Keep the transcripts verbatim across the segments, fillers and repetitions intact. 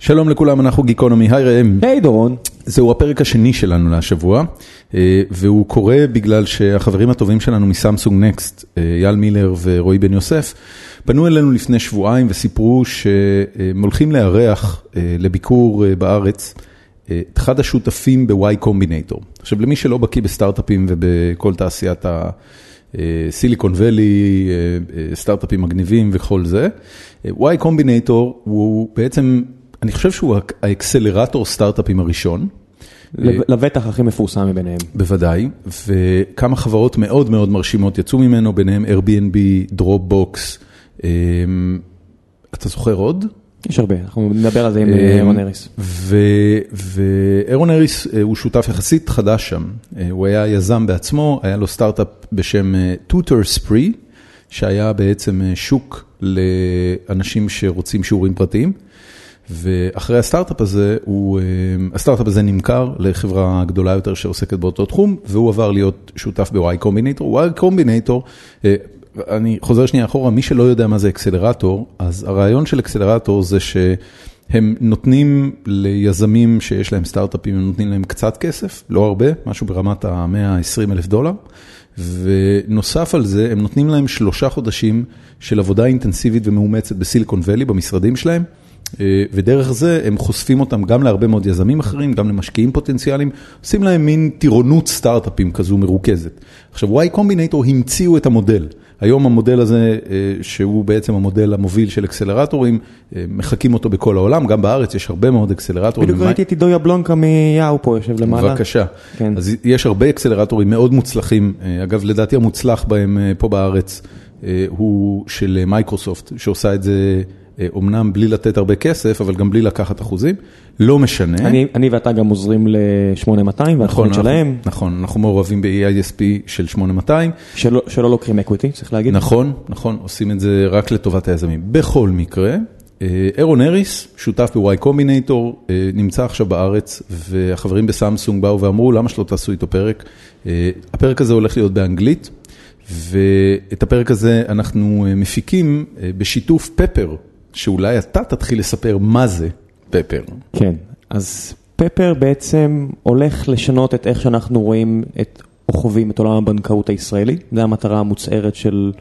שלום לכולם, אנחנו גיקונומי, היי ראם. היי דורון. זהו הפרק השני שלנו להשבוע, והוא קורה בגלל שהחברים הטובים שלנו מסמסונג נקסט, יאל מילר ורועי בן יוסף, פנו אלינו לפני שבועיים וסיפרו שהם הולכים לארח לביקור בארץ את אחד השותפים ב-Y Combinator. עכשיו, למי שלא בקיא בסטארט-אפים ובכל תעשיית הסיליקון ואלי, סטארט-אפים מגניבים וכל זה, Y Combinator הוא בעצם, אני חושב שהוא האקסלרטור סטארט-אפים הראשון. לבטח הכי מפורסם מביניהם. בוודאי, וכמה חברות מאוד מאוד מרשימות יצאו ממנו, ביניהם Airbnb, Dropbox, אתה זוכר עוד? יש הרבה, אנחנו נדבר על זה עם אירון אריס. ואירון אריס הוא שותף יחסית חדש שם, הוא היה יזם בעצמו, היה לו סטארט-אפ בשם Tutor Spree, שהיה בעצם שוק לאנשים שרוצים שיעורים פרטיים, ואחרי הסטארט-אפ הזה, הוא, הסטארט-אפ הזה נמכר לחברה גדולה יותר שעוסקת באותו תחום, והוא עבר להיות שותף ב-Y Combinator. Y Combinator, אני חוזר שנייה אחורה, מי שלא יודע מה זה אקסלרטור, אז הרעיון של אקסלרטור זה שהם נותנים ליזמים שיש להם סטארט-אפים, הם נותנים להם קצת כסף, לא הרבה, משהו ברמת ה-מאה ועשרים אלף דולר, ונוסף על זה, הם נותנים להם שלושה חודשים של עבודה אינטנסיבית ומאומצת בסיליקון ואלי, במשרדים שלהם, ודרך זה הם חושפים אותם גם להרבה מאוד יזמים אחרים, גם למשקיעים פוטנציאליים, עושים להם מין טירונות סטארט-אפים כזו מרוכזת. עכשיו, Y Combinator המציאו את המודל. היום המודל הזה, שהוא בעצם המודל המוביל של אקסלרטורים, מחכים אותו בכל העולם, גם בארץ יש הרבה מאוד אקסלרטורים. בדיוק ראיתי את עידו יבלונקה מיהו פה, יושב למעלה. בבקשה. כן. אז יש הרבה אקסלרטורים מאוד מוצלחים, אגב, לדעתי המוצלח בהם פה בארץ, הוא של מייקרוסופט, שעושה את זה אומנם בלי לתת הרבה כסף, אבל גם בלי לקחת אחוזים, לא משנה. אני, אני ואתה גם עוזרים ל-שמונה מאתיים, והתוכנית שלהם. נכון, אנחנו מעורבים ב-E I S P של שמונה מאתיים. שלא, שלא לוקחים אקוויטי, צריך להגיד. נכון, נכון, עושים את זה רק לטובת היזמים. בכל מקרה, אירון אריס, שותף ב-Y Combinator, נמצא עכשיו בארץ, והחברים בסמסונג באו ואמרו, למה שלא תעשו איתו פרק? הפרק הזה הולך להיות באנגלית, ואת הפרק הזה אנחנו מפיקים בשיתוף פפר, שאולי אתה תתחיל לספר מה זה פפר. כן, אז פפר בעצם הולך לשנות את איך שאנחנו רואים את, או חווים את עולם הבנקאות הישראלי. זה המטרה המוצהרת של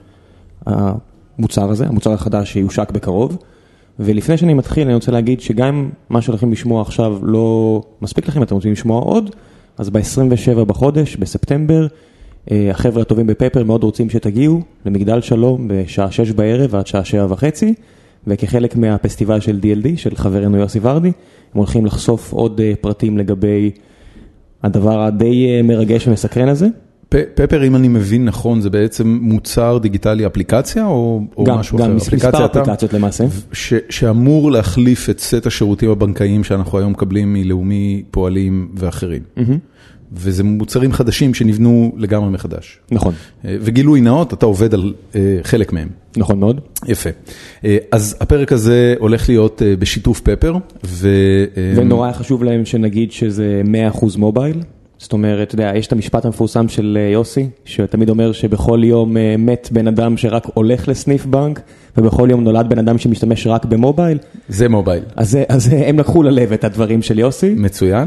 המוצר הזה, המוצר החדש שיושק בקרוב. ולפני שאני מתחיל, אני רוצה להגיד שגם מה שהולכים לשמוע עכשיו לא מספיק לכם, אתם רוצים לשמוע עוד, אז ב-עשרים ושבעה בחודש, בספטמבר, החבר'ה הטובים בפפר מאוד רוצים שתגיעו למגדל שלום בשעה שש בערב ועד שעה שבע וחצי, וכחלק מהפסטיבל של D L D, של חברנו יוסי ורדי, הם הולכים לחשוף עוד פרטים לגבי הדבר הדי מרגש ומסקרן הזה. פפר, אם אני מבין נכון, זה בעצם מוצר דיגיטלי אפליקציה או, או גם, משהו גם אחר? אפליקציה מספר אפליקציות למעשה. ש, שאמור להחליף את סט השירותים הבנקאיים שאנחנו היום מקבלים מלאומי, פועלים ואחרים. Mm-hmm. וזה מוצרים חדשים שנבנו לגמרי מחדש. נכון. וגילוי נאות, אתה עובד על חלק מהם. נכון מאוד. יפה. אז הפרק הזה הולך להיות בשיתוף פפר. ו... ונורא חשוב להם שנגיד שזה מאה אחוז מובייל. זאת אומרת, אתה יודע, יש את המשפט המפורסם של יוסי, שתמיד אומר שבכל יום מת בן אדם שרק הולך לסניף בנק, ובכל יום נולד בן אדם שמשתמש רק במובייל. זה מובייל. אז, אז הם לקחו ללב את הדברים של יוסי. מצוין.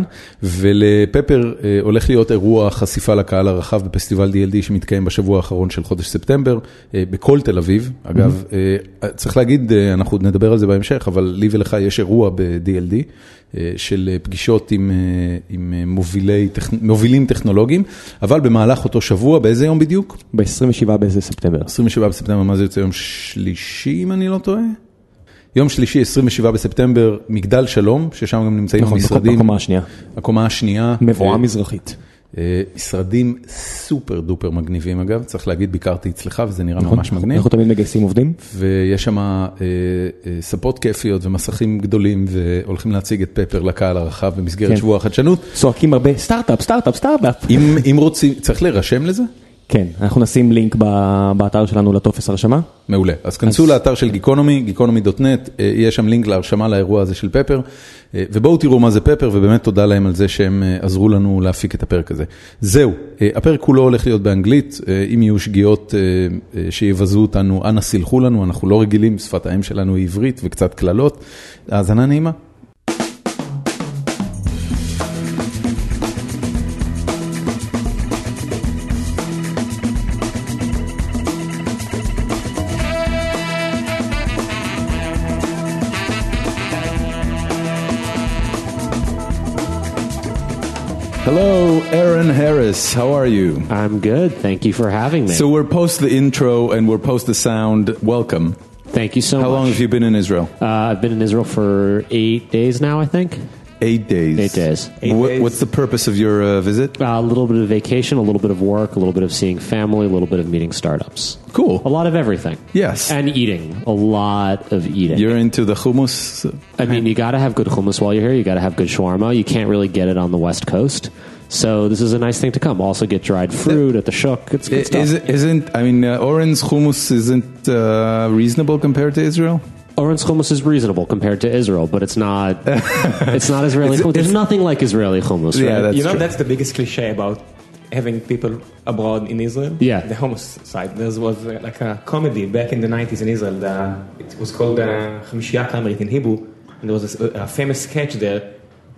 ולפפר הולך להיות אירוע חשיפה לקהל הרחב בפסטיבל D L D שמתקיים בשבוע האחרון של חודש ספטמבר, בכל תל אביב. אגב, mm-hmm. צריך להגיד, אנחנו נדבר על זה בהמשך, אבל לי ולך יש אירוע ב-D L D, של פגישות עם, עם מובילי, מובילים טכנולוגיים, אבל במהלך אותו שבוע, באיזה יום בדיוק? ב-עשרים ושבעה באיזה ספטמבר. עשרים ושבעה בספטמבר, מה זה יוצא? יום שלישי, אם אני לא טועה? יום שלישי, עשרים ושבעה בספטמבר, מגדל שלום, ששם גם נמצאים נכון, המשרדים. הקומה השנייה. הקומה השנייה. מבואה מזרחית. משרדים סופר דופר מגניבים אגב, צריך להגיד, ביקרתי אצלך וזה נראה ממש מגניב. אנחנו תמיד מגייסים עובדים. ויש שם ספות כיפיות ומסכים גדולים, והולכים להציג את פפר לקהל הרחב במסגרת שבוע החדשנות. צועקים הרבה, סטארט-אפ, סטארט-אפ, סטארט-אפ. אם רוצים, צריך להירשם לזה? כן, אנחנו נשים לינק באתר שלנו לטופס הרשמה. מעולה. אז כנסו לאתר של גיקונומי, גיקונומי דוט נט, יש שם לינק להרשמה לאירוע הזה של פפר, ובואו תראו מה זה פפר, ובאמת תודה להם על זה שהם עזרו לנו להפיק את הפרק הזה. זהו, הפרק כולו הולך להיות באנגלית, אם יהיו שגיאות שיבזו אותנו, אנא סילחו לנו, אנחנו לא רגילים, שפת האם שלנו היא עברית וקצת כללות, האזנה נעימה. Hello, Aaron Harris. How are you? I'm good. Thank you for having me. So we're post the intro and we're post the sound. Welcome. Thank you so How much. How long have you been in Israel? Uh, I've been in Israel for eight days now, I think. Eight days. Eight days. Eight what, days. What's the purpose of your uh, visit? Uh, a little bit of vacation, a little bit of work, a little bit of seeing family, a little bit of meeting startups. Cool. A lot of everything. Yes. And eating. A lot of eating. You're into the hummus? I mean, you got to have good hummus while you're here. You got to have good shawarma. You can't really get it on the West Coast. So this is a nice thing to come. Also get dried fruit at the shuk. It's good stuff. Is it, isn't, I mean, uh, Oren's hummus isn't uh, reasonable compared to Israel? Oren's hummus is reasonable compared to Israel, but it's not. It's not Israeli hummus. There's nothing like Israeli hummus, right? Yeah, that's you know, true. That's the biggest cliche about having people abroad in Israel. Yeah, the hummus side. There was uh, like a comedy back in the nineties in Israel. The, it was called uh, Chamishiya Kamerit in Hebrew, and there was a, a famous sketch there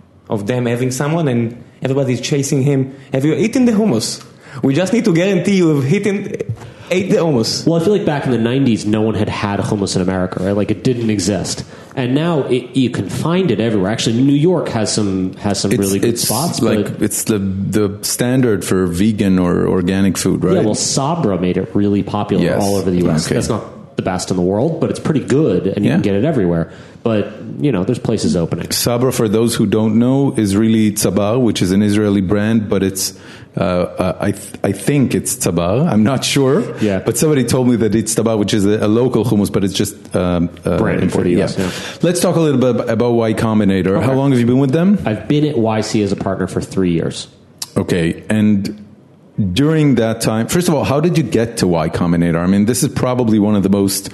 of them having someone, and everybody's chasing him. Have you eaten the hummus? We just need to guarantee you have eaten. Ate the hummus. Well, I feel like back in the nineties, no one had had hummus in America, right? Like it didn't exist, and now it, you can find it everywhere. Actually, New York has some has some it's, really good it's spots. Like but it's the the standard for vegan or organic food, right? Yeah, well, Sabra made it really popular yes. all over the U S. Okay. That's not the best in the world, but it's pretty good, and you yeah. can get it everywhere. But you know, there's places opening. Sabra, for those who don't know, is really Tzabar, which is an Israeli brand, but it's uh, uh, I th- I think it's Tzabar. I'm not sure. Yeah. But somebody told me that it's Tzabar, which is a, a local hummus, but it's just um, uh, branded for the U S. Yeah. Yeah. Let's talk a little bit about Y Combinator. Okay. How long have you been with them? I've been at Y C as a partner for three years. Okay, and during that time, first of all, how did you get to Y Combinator? I mean, this is probably one of the most.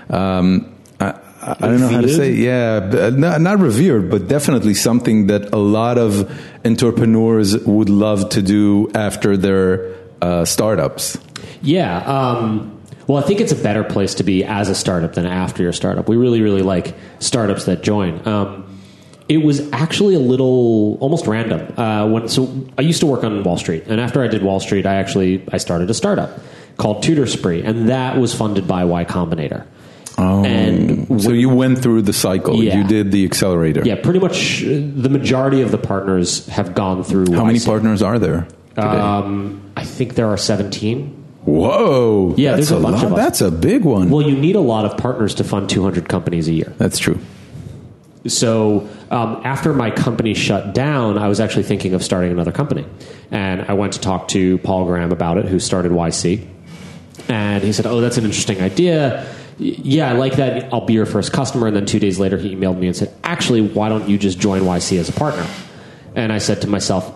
Um, I, I don't know how to say, yeah, not, not revered, but definitely something that a lot of entrepreneurs would love to do after their uh, startups. Yeah. Um, well, I think it's a better place to be as a startup than after your startup. We really, really like startups that join. Um, it was actually a little almost random. Uh, when so I used to work on Wall Street, and after I did Wall Street, I actually I started a startup called Tutor Spree, and that was funded by Y Combinator. Oh, and so you went through the cycle. Yeah. You did the accelerator. Yeah, pretty much the majority of the partners have gone through. How Y C. many partners are there today? Um, I think there are seventeen. Whoa. Yeah, that's there's a bunch lot. of us. That's a big one. Well, you need a lot of partners to fund two hundred companies a year. That's true. So um, after my company shut down, I was actually thinking of starting another company. And I went to talk to Paul Graham about it, who started Y C. And he said, oh, that's an interesting idea. Yeah, I like that. I'll be your first customer. And then two days later, he emailed me and said, actually, why don't you just join Y C as a partner? And I said to myself,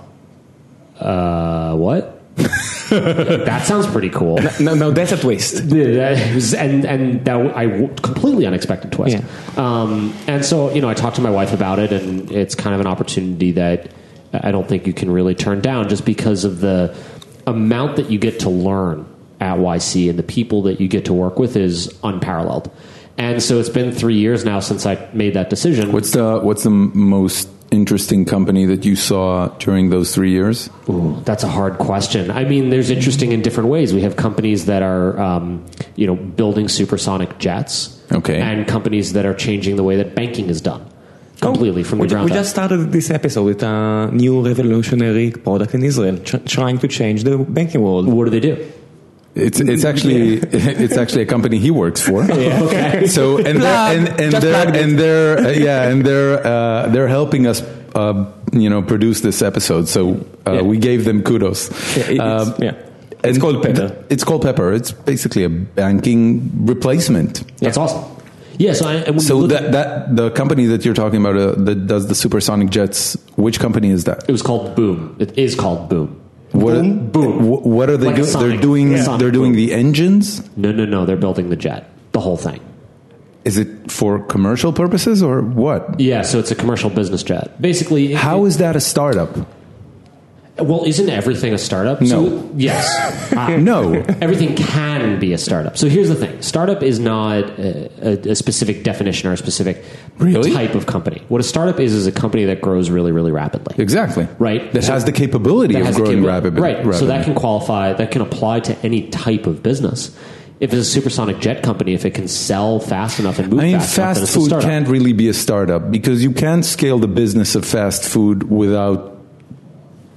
uh, what? That sounds pretty cool. No, no, that's a twist. and and that I completely unexpected twist. Yeah. Um, and so you know, I talked to my wife about it, and it's kind of an opportunity that I don't think you can really turn down, just because of the amount that you get to learn at Y C and the people that you get to work with is unparalleled. And so it's been three years now since I made that decision. What's the what's the most interesting company that you saw during those three years? Ooh, that's a hard question. I mean, there's interesting in different ways. We have companies that are, um, you know, building supersonic jets, okay, and companies that are changing the way that banking is done completely oh, from the we, ground we up. We just started this episode with a new revolutionary product in Israel, tr- trying to change the banking world. What do they do? It's it's actually it's actually a company he works for. Yeah, okay. So and they're, and, and they're and they're uh, yeah and they're uh, they're helping us uh, you know produce this episode. So uh, yeah. we gave them kudos. Yeah, it's, um, yeah. it's called Pepper. It's called Pepper. It's basically a banking replacement. That's yeah. awesome. Yeah. So, I, so that at, that the company that you're talking about uh, that does the supersonic jets. Which company is that? It was called Boom. It is called Boom. What boom, are, boom. What are they like doing? They're doing. Yeah. They're doing boom. The engines. No, no, no. They're building the jet. The whole thing. Is it for commercial purposes or what? Yeah. So it's a commercial business jet. Basically, how it, is that a startup? Well, isn't everything a startup? No. So, yes. Uh, no. Everything can be a startup. So here's the thing. Startup is not a, a, a specific definition or a specific really? type of company. What a startup is is a company that grows really, really rapidly. Exactly. Right? That so, has the capability of growing rapidly. Right. rapidly. So that can qualify, that can apply to any type of business. If it's a supersonic jet company, if it can sell fast enough and move I mean, fast, fast enough, food can't really be a startup because you can't scale the business of fast food without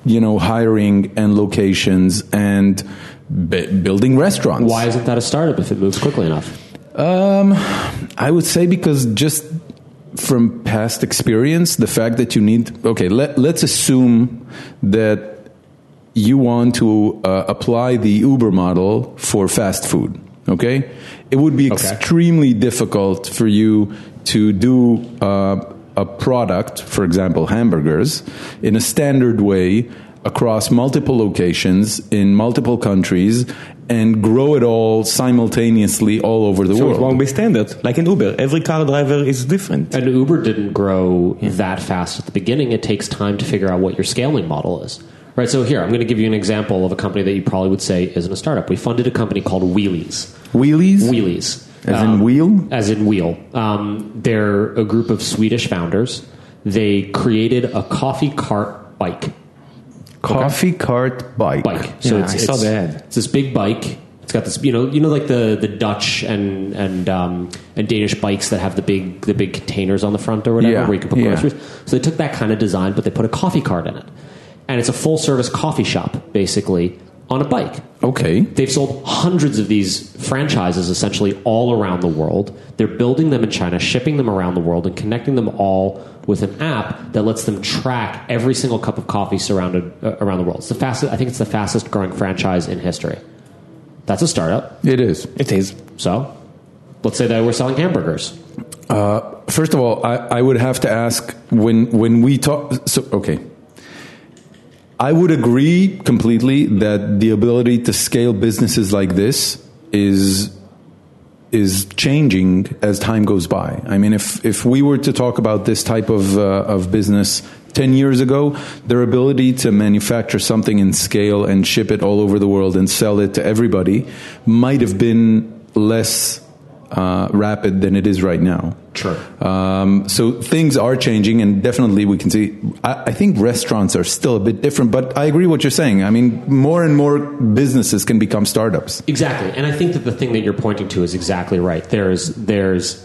you know, hiring and locations and b- building restaurants. Why isn't that a startup if it moves quickly enough? Um, I would say because just from past experience, the fact that you need, okay, let, let's assume that you want to uh, apply the Uber model for fast food, okay? It would be Okay. extremely difficult for you to do uh, a product, for example, hamburgers, in a standard way across multiple locations in multiple countries and grow it all simultaneously all over the So world. it won't be standard. Like in Uber, every car driver is different. And Uber didn't grow that fast at the beginning. It takes time to figure out what your scaling model is. Right, so here, I'm going to give you an example of a company that you probably would say isn't a startup. We funded a company called Wheelies. Wheelies? Wheelies. As Um, in wheel? As in wheel. Um, they're a group of Swedish founders. They created a coffee cart bike. Coffee cart bike. Bike. Yeah, I saw the ad. It's this big bike. It's got this, you know, you know, like the, the Dutch and and um, and Danish bikes that have the big the big containers on the front or whatever, Yeah, where you can put yeah. groceries. So they took that kind of design, but they put a coffee cart in it, and it's a full service coffee shop basically on a bike. Okay. They've sold hundreds of these franchises essentially all around the world. They're building them in China, shipping them around the world, and connecting them all with an app that lets them track every single cup of coffee surrounded uh, around the world. It's the fastest. I think it's the fastest growing franchise in history. That's a startup. It is. It is. So, let's say that we're selling hamburgers. Uh, first of all, I, I would have to ask when when we talk. So, okay. I would agree completely that the ability to scale businesses like this is is changing as time goes by. I mean, if if we were to talk about this type of uh, of business ten years ago, their ability to manufacture something in scale and ship it all over the world and sell it to everybody might have been less uh, rapid than it is right now. Sure. Um, so things are changing, and definitely we can see. I, I think restaurants are still a bit different, but I agree what you're saying. I mean, more and more businesses can become startups. Exactly, and I think that the thing that you're pointing to is exactly right. There's there's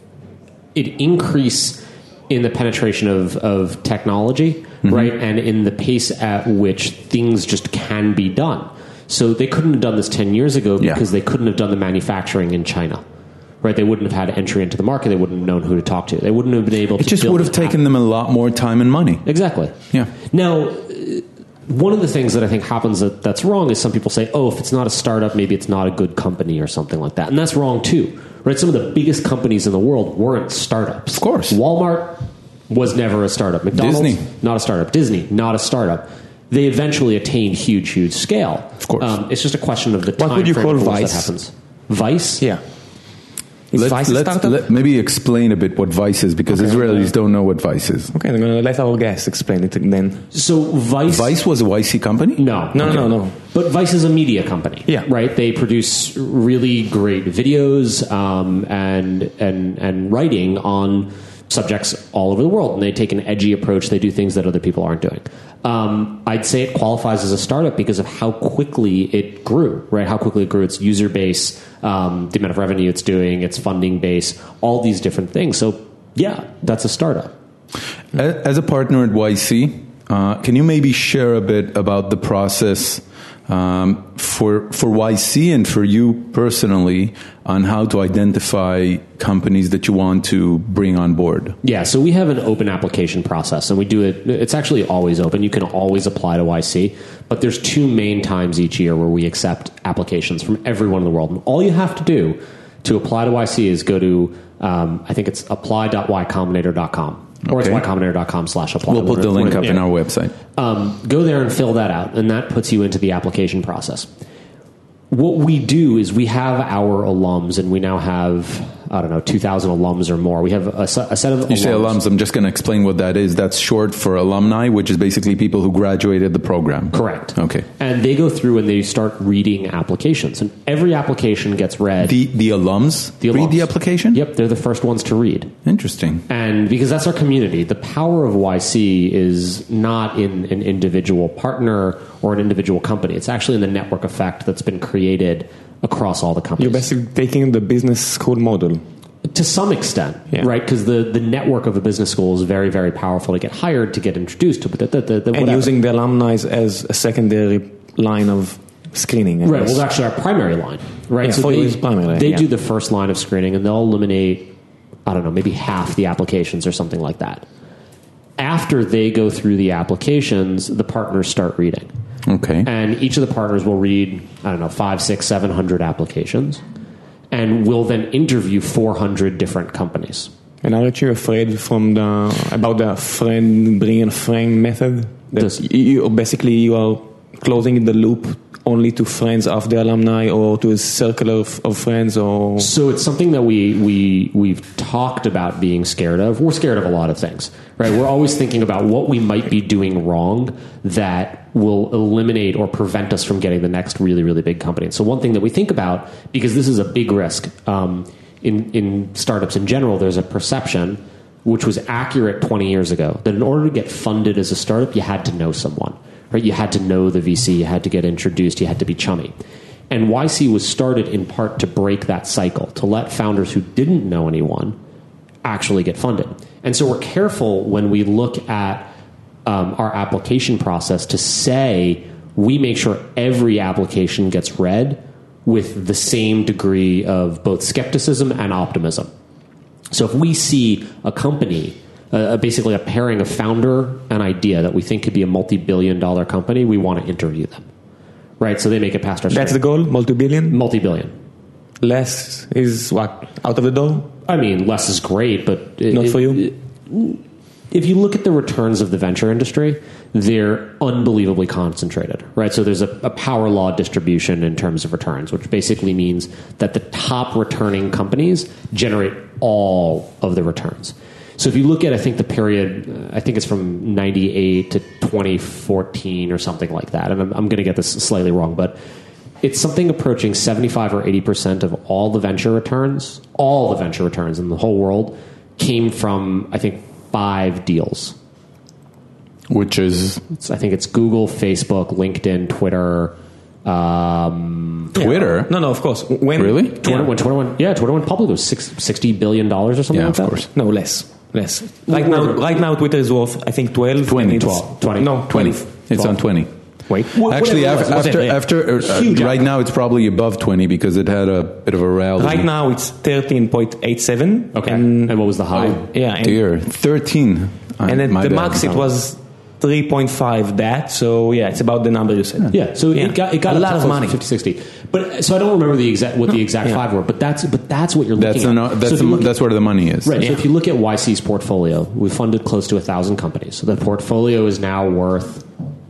an increase in the penetration of, of technology, mm-hmm. right, and in the pace at which things just can be done. So they couldn't have done this ten years ago because Yeah. they couldn't have done the manufacturing in China. Right, they wouldn't have had entry into the market. They wouldn't have known who to talk to. They wouldn't have been able It to just build would have an app. taken them a lot more time and money. Exactly. Yeah. Now, uh, one of the things that I think happens that, that's wrong is some people say, oh, if it's not a startup, maybe it's not a good company or something like that. And that's wrong too. Right? Some of the biggest companies in the world weren't startups. Of course. Walmart was never a startup. McDonald's, Disney. not a startup. Disney, not a startup. They eventually attained huge, huge scale. Of course. Um, it's just a question of the What time would you frame call in which Vice? that happens. Vice? Yeah. Is Let's, Vice a let's startup? let, maybe explain a bit what Vice is, because Okay. Israelis don't know what Vice is. Okay, I'm going to let our guest explain it then. So Vice... Vice was a Y C company? No. No, Okay. no, no. But Vice is a media company. Yeah. Right? They produce really great videos um, and, and, and writing on subjects all over the world. And they take an edgy approach. They do things that other people aren't doing. Um, I'd say it qualifies as a startup because of how quickly it grew, right? How quickly it grew its user base, um, the amount of revenue it's doing, its funding base, all these different things. So, yeah, that's a startup. As a partner at Y C, uh, can you maybe share a bit about the process um, for for Y C and for you personally on how to identify companies that you want to bring on board? Yeah, so we have an open application process, and we do it. It's actually always open. You can always apply to Y C, but there's two main times each year where we accept applications from everyone in the world. And all you have to do to apply to Y C is go to, um, I think it's apply dot y combinator dot com. Or Okay. it's y combinator dot com slash apply. We'll put the link up in our website. Um, go there and fill that out, and that puts you into the application process. What we do is we have our alums, and we now have, I don't know, two thousand alums or more. We have a, se- a set of You say alums, I'm just going to explain what that is. That's short for alumni, which is basically people who graduated the program. Correct. Okay. And they go through and they start reading applications. And every application gets read. The the alums The read alums. the application? Yep, they're the first ones to read. Interesting. And because that's our community, the power of Y C is not in an individual partner or an individual company. It's actually in the network effect that's been created across all the companies. You're basically taking the business school model. To some extent, Yeah. right? Because the, the network of a business school is very, very powerful to get hired, to get introduced to, the, the, the, the And whatever. using the alumni as a secondary line of screening. I Right, guess. well, actually, our primary line, right? Yeah, for they, you it's primary, they yeah. do the first line of screening, and they'll eliminate, I don't know, maybe half the applications or something like that. After they go through the applications, the partners start reading. Okay. And each of the partners will read, I don't know, five, six, seven hundred applications, and will then interview four hundred different companies. And aren't you afraid from the about the friend bring a friend method? That This- you, you- basically you are closing the loop only to friends of the alumni or to a circle of, of friends or So it's something that we we we've talked about being scared of. We're scared of a lot of things, right? We're always thinking about what we might be doing wrong that will eliminate or prevent us from getting the next really really big company. And so one thing that we think about, because this is a big risk um, in in startups in general, there's a perception which was accurate twenty years ago that in order to get funded as a startup, you had to know someone. Right, you had to know the V C, you had to get introduced, you had to be chummy. And Y C was started in part to break that cycle, to let founders who didn't know anyone actually get funded. And so we're careful when we look at um, our application process to say we make sure every application gets read with the same degree of both skepticism and optimism. So if we see a company, Uh, basically a pairing of founder and idea that we think could be a multi-billion dollar company, we want to interview them. Right? So they make it past our that's the screen. goal, multi-billion? Multi-billion. Less is what? Out of the door? I mean, less is great, but... it- Not it- for you? it- if you look at the returns of the venture industry, they're unbelievably concentrated, right? So there's a, a power law distribution in terms of returns, which basically means that the top returning companies generate all of the returns. So if you look at, I think the period, uh, I think it's from ninety-eight to twenty fourteen or something like that, and I'm, I'm going to get this slightly wrong, but it's something approaching seventy-five or eighty percent of all the venture returns, all the venture returns in the whole world came from, I think, five deals. Which is It's, I think it's Google, Facebook, LinkedIn, Twitter. Um, Twitter? No, no, of course. When, Really? Twitter, Yeah. when Twitter went, yeah, Twitter went public, it was six, sixty billion dollars or something Yeah, like of that. course. No, less. Less. Right now, right now Twitter is worth, I think, twelve. twenty, and it's- twelve, twenty. No, twenty. twelve. It's on twenty. Wait. Actually, whatever it was, after, it was after, it, yeah. after uh, Huge right app. now it's probably above twenty because it had a bit of a rally. Right now it's thirteen point eight seven. Okay. And, And what was the high? yeah. And, Dear, thirteen. and then My the bad. max it was three point five that. So yeah, it's about the number you said. Yeah, so Yeah. it got it got A up lot to of close to money. fifty, sixty. But so I don't remember the exact what the exact Yeah. five were, but that's but that's what you're That's looking the, at. no- that's So if the, you look- that's where the money is. right. So Yeah. if you look at Y C's portfolio, we funded close to a thousand companies. So the portfolio is now worth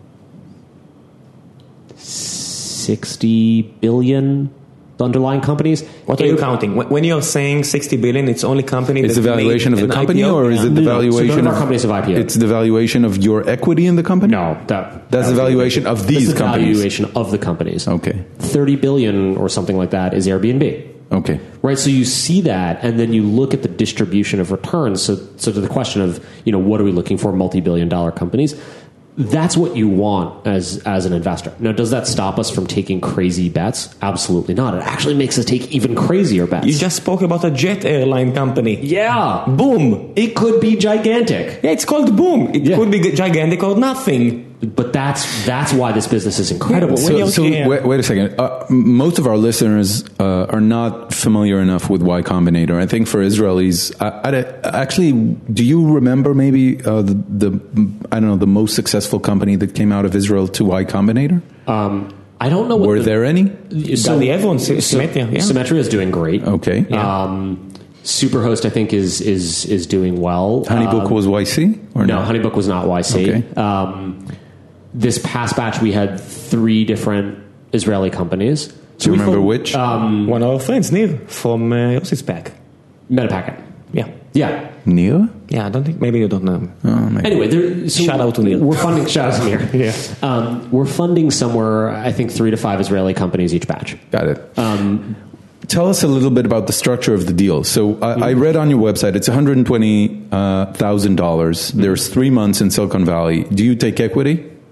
sixty billion. The underlying companies. What are you Eight- counting? When when you're saying sixty billion, it's only company. It's that the valuation of made the an company, I P O? or is Yeah. it the No, no, so valuation none of our of companies have I P O'd. It's the valuation of your equity in the company. No, that That's the valuation of That's these the companies. valuation of the companies. Okay. thirty billion or something like that is Airbnb. Okay. Right, so you see that, and then you look at the distribution of returns. So, so to the question of, you know, what are we looking for? Multi-billion dollar companies. That's what you want as as an investor. Now, does that stop us from taking crazy bets? Absolutely not. It actually makes us take even crazier bets. You just spoke about a jet airline company. yeah, Boom. it could be gigantic, Yeah, it's called Boom. It Yeah. could be gigantic or nothing. but that's that's why this business is incredible. When So, you're- so yeah. wait, wait a second. Uh, m- most of our listeners uh, are not familiar enough with Y Combinator. I think for Israelis, I, I, actually, do you remember maybe uh, the, the I don't know the most successful company that came out of Israel to Y Combinator? Um, I don't know. What Were the, there any? So, Gadi Evans, so Symmetria, yeah. Symmetria is doing great. Okay. Um, Superhost, I think, is is is doing well. Honeybook Um, was Y C or no, no? Honeybook was not Y C. Okay. Um, this past batch, we had three different Israeli companies. Do you we remember fo- which? Um, One of our friends, Nir, from uh, Yossi's pack. Metapacket. Yeah. Yeah. Neil? Yeah, I don't think, maybe you don't know. Oh, maybe. Anyway, there, so Shout out to Neil. We're funding. Shout out to Neil. Yeah. Um, we're funding somewhere, I think, three to five Israeli companies each batch. Got it. Um, Tell us a little bit about the structure of the deal. So I, I read on your website it's one hundred twenty thousand dollars. There's three months in Silicon Valley. Do you take equity?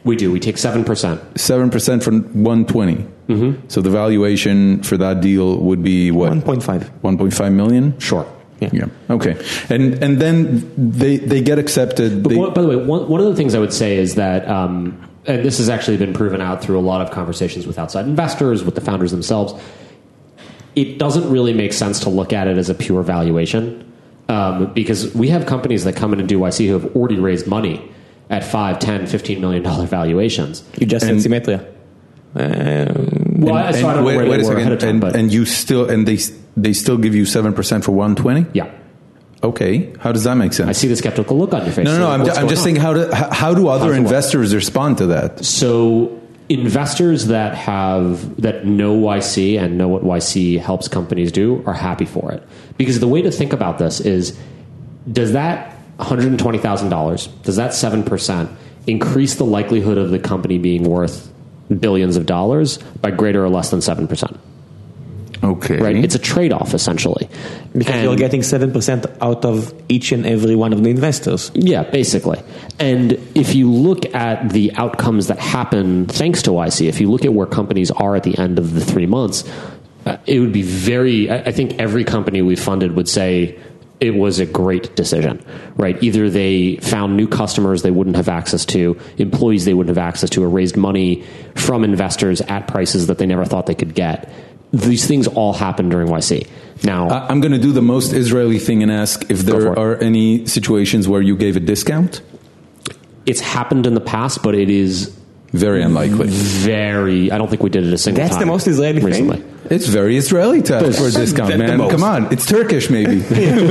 We do. We take seven percent. seven percent from one twenty. Mm-hmm. So the valuation for that deal would be what? one point five. one point five million? Sure. Yeah. Yeah. Okay. And and then they they get accepted. But They, one, by the way, one, one of the things I would say is that, um, and this has actually been proven out through a lot of conversations with outside investors, with the founders themselves, it doesn't really make sense to look at it as a pure valuation, um, because we have companies that come in and do Y C who have already raised money at five, ten, fifteen million dollar valuations. You just And- said Symmetria. Um, Well, I, so I don't wait, know where wait they a were second. ahead of time, and, but and you still and they they still give you seven percent for one twenty? yeah, Okay. How does that make sense? I see the skeptical look on your face. No, no, So no. I'm, what's ju- I'm going just on? saying, how do how, how do other How's it work? investors respond to that? So investors that have that know Y C and know what Y C helps companies do are happy for it, because the way to think about this is, does that one hundred twenty thousand dollars, does that seven percent increase the likelihood of the company being worth billions of dollars by greater or less than seven percent? Okay. Right? It's a trade-off, essentially. because And- you're getting seven percent out of each and every one of the investors. Yeah, basically. And if you look at the outcomes that happen thanks to Y C, if you look at where companies are at the end of the three months, uh, it would be very, I I think every company we funded would say it was a great decision, right? Either they found new customers they wouldn't have access to, employees they wouldn't have access to, or raised money from investors at prices that they never thought they could get. These things all happen during Y C. Now, I- I'm going to do the most Israeli thing and ask if Go there for it. are any situations where you gave a discount. it's happened in the past, but it is Very unlikely. very, I don't think we did it a single That's time. the most Israeli thing? recently. It's very Israeli to ask for a discount, That's the man. most. Come on. It's Turkish, maybe.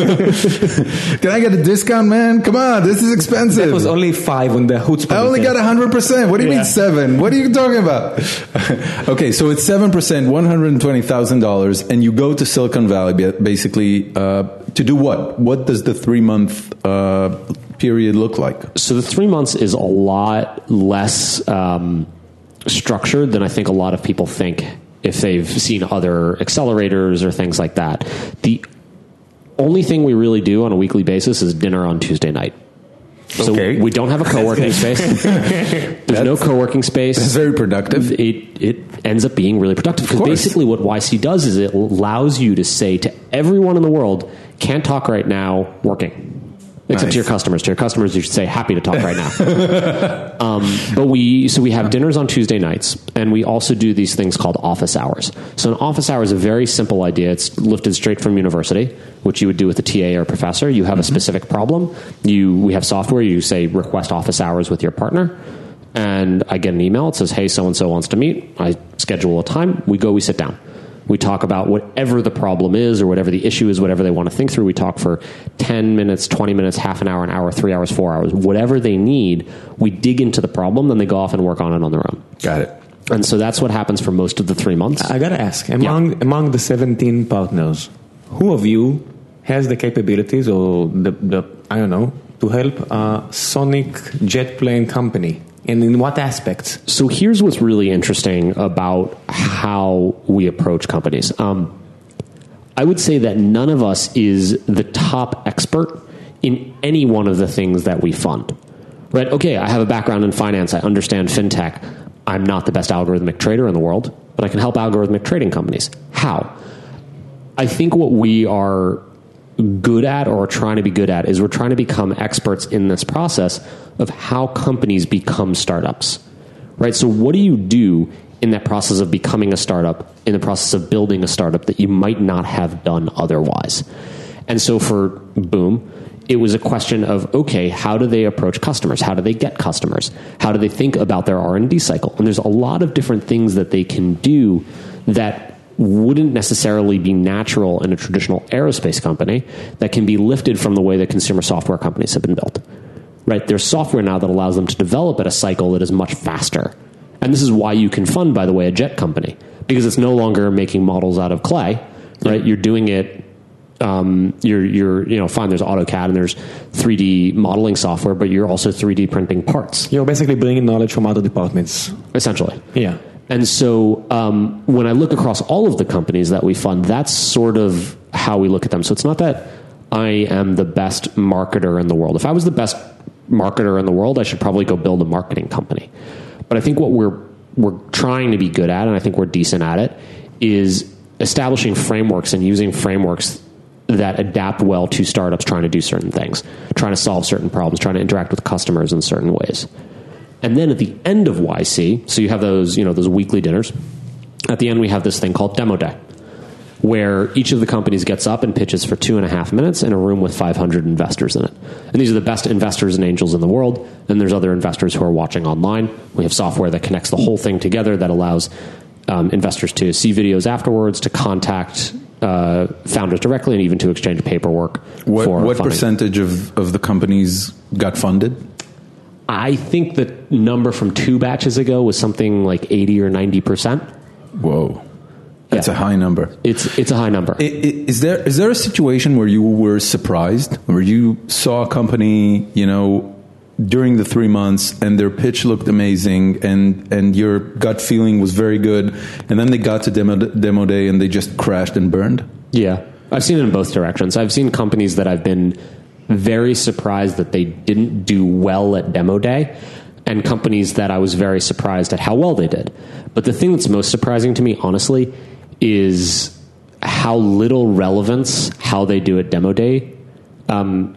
Can I get a discount, man? Come on. This is expensive. That was only five on the chutzpah. I only got one hundred percent. What do you Yeah. mean seven? What are you talking about? Okay, so it's seven percent, one hundred twenty thousand dollars, and you go to Silicon Valley ba- basically uh, to do what? What does the three-month uh, period look like? So the three months is a lot less um, structured than I think a lot of people think if they've seen other accelerators or things like that. The only thing we really do on a weekly basis is dinner on Tuesday night. So Okay. we don't have a co-working space. There's no co-working space. It's very productive. It it ends up being really productive because course. basically what Y C does is it allows you to say to everyone in the world, can't talk right now, working. Except Nice. to your customers. To your customers, you should say happy to talk right now. um, but we so we have dinners on Tuesday nights, and we also do these things called office hours. So an office hour is a very simple idea. It's lifted straight from university, which you would do with a T A or professor. You have a specific problem. You we have software. You say request office hours with your partner, and I get an email. It says, "Hey, so and so wants to meet." I schedule a time. We go. We sit down. We talk about whatever the problem is or whatever the issue is, whatever they want to think through. We talk for ten minutes, twenty minutes, half an hour, an hour, three hours, four hours, whatever they need. We dig into the problem, then they go off and work on it on their own. Got it. And so that's what happens for most of the three months. I gotta ask, among among the seventeen partners, who of you has the capabilities or the, the I don't know, to help a Sonic jet plane company? And in what aspects? So here's what's really interesting about how we approach companies. Um, I would say that none of us is the top expert in any one of the things that we fund. Right? Okay, I have a background in finance. I understand fintech. I'm not the best algorithmic trader in the world, but I can help algorithmic trading companies. How? I think what we are good at or trying to be good at is we're trying to become experts in this process of how companies become startups, right? So what do you do in that process of becoming a startup, in the process of building a startup that you might not have done otherwise? And so for Boom, it was a question of, okay, how do they approach customers? How do they get customers? How do they think about their R and D cycle? And there's a lot of different things that they can do that wouldn't necessarily be natural in a traditional aerospace company that can be lifted from the way that consumer software companies have been built. Right? There's software now that allows them to develop at a cycle that is much faster. And this is why you can fund, by the way, a jet company, because it's no longer making models out of clay, right? You're doing it, um, you're, you're, you know, fine, there's AutoCAD and there's three D modeling software, but you're also three D printing parts, You're basically bringing knowledge from other departments. essentially. Yeah. And so um, when I look across all of the companies that we fund, that's sort of how we look at them. So it's not that I am the best marketer in the world. If I was the best marketer in the world, I should probably go build a marketing company. But I think what we're we're trying to be good at, and I think we're decent at it, is establishing frameworks and using frameworks that adapt well to startups trying to do certain things, trying to solve certain problems, trying to interact with customers in certain ways. And then at the end of Y C, so you have those, you know, those weekly dinners. At the end, we have this thing called Demo Day, where each of the companies gets up and pitches for two and a half minutes in a room with five hundred investors in it. And these are the best investors and angels in the world. And there's other investors who are watching online. We have software that connects the whole thing together that allows um, investors to see videos afterwards, to contact uh, founders directly, and even to exchange paperwork. What, for what funding. percentage of, of the companies got funded? I think the number from two batches ago was something like eighty or ninety percent. Whoa. That's Yeah. a high number. It's it's a high number. I- i- Is there is there a situation where you were surprised, where you saw a company, you know, during the three months and their pitch looked amazing and, and your gut feeling was very good, and then they got to demo, demo day and they just crashed and burned? Yeah, I've seen it in both directions. I've seen companies that I've been very surprised that they didn't do well at demo day, and companies that I was very surprised at how well they did. But the thing that's most surprising to me, honestly, is how little relevance how they do at demo day um,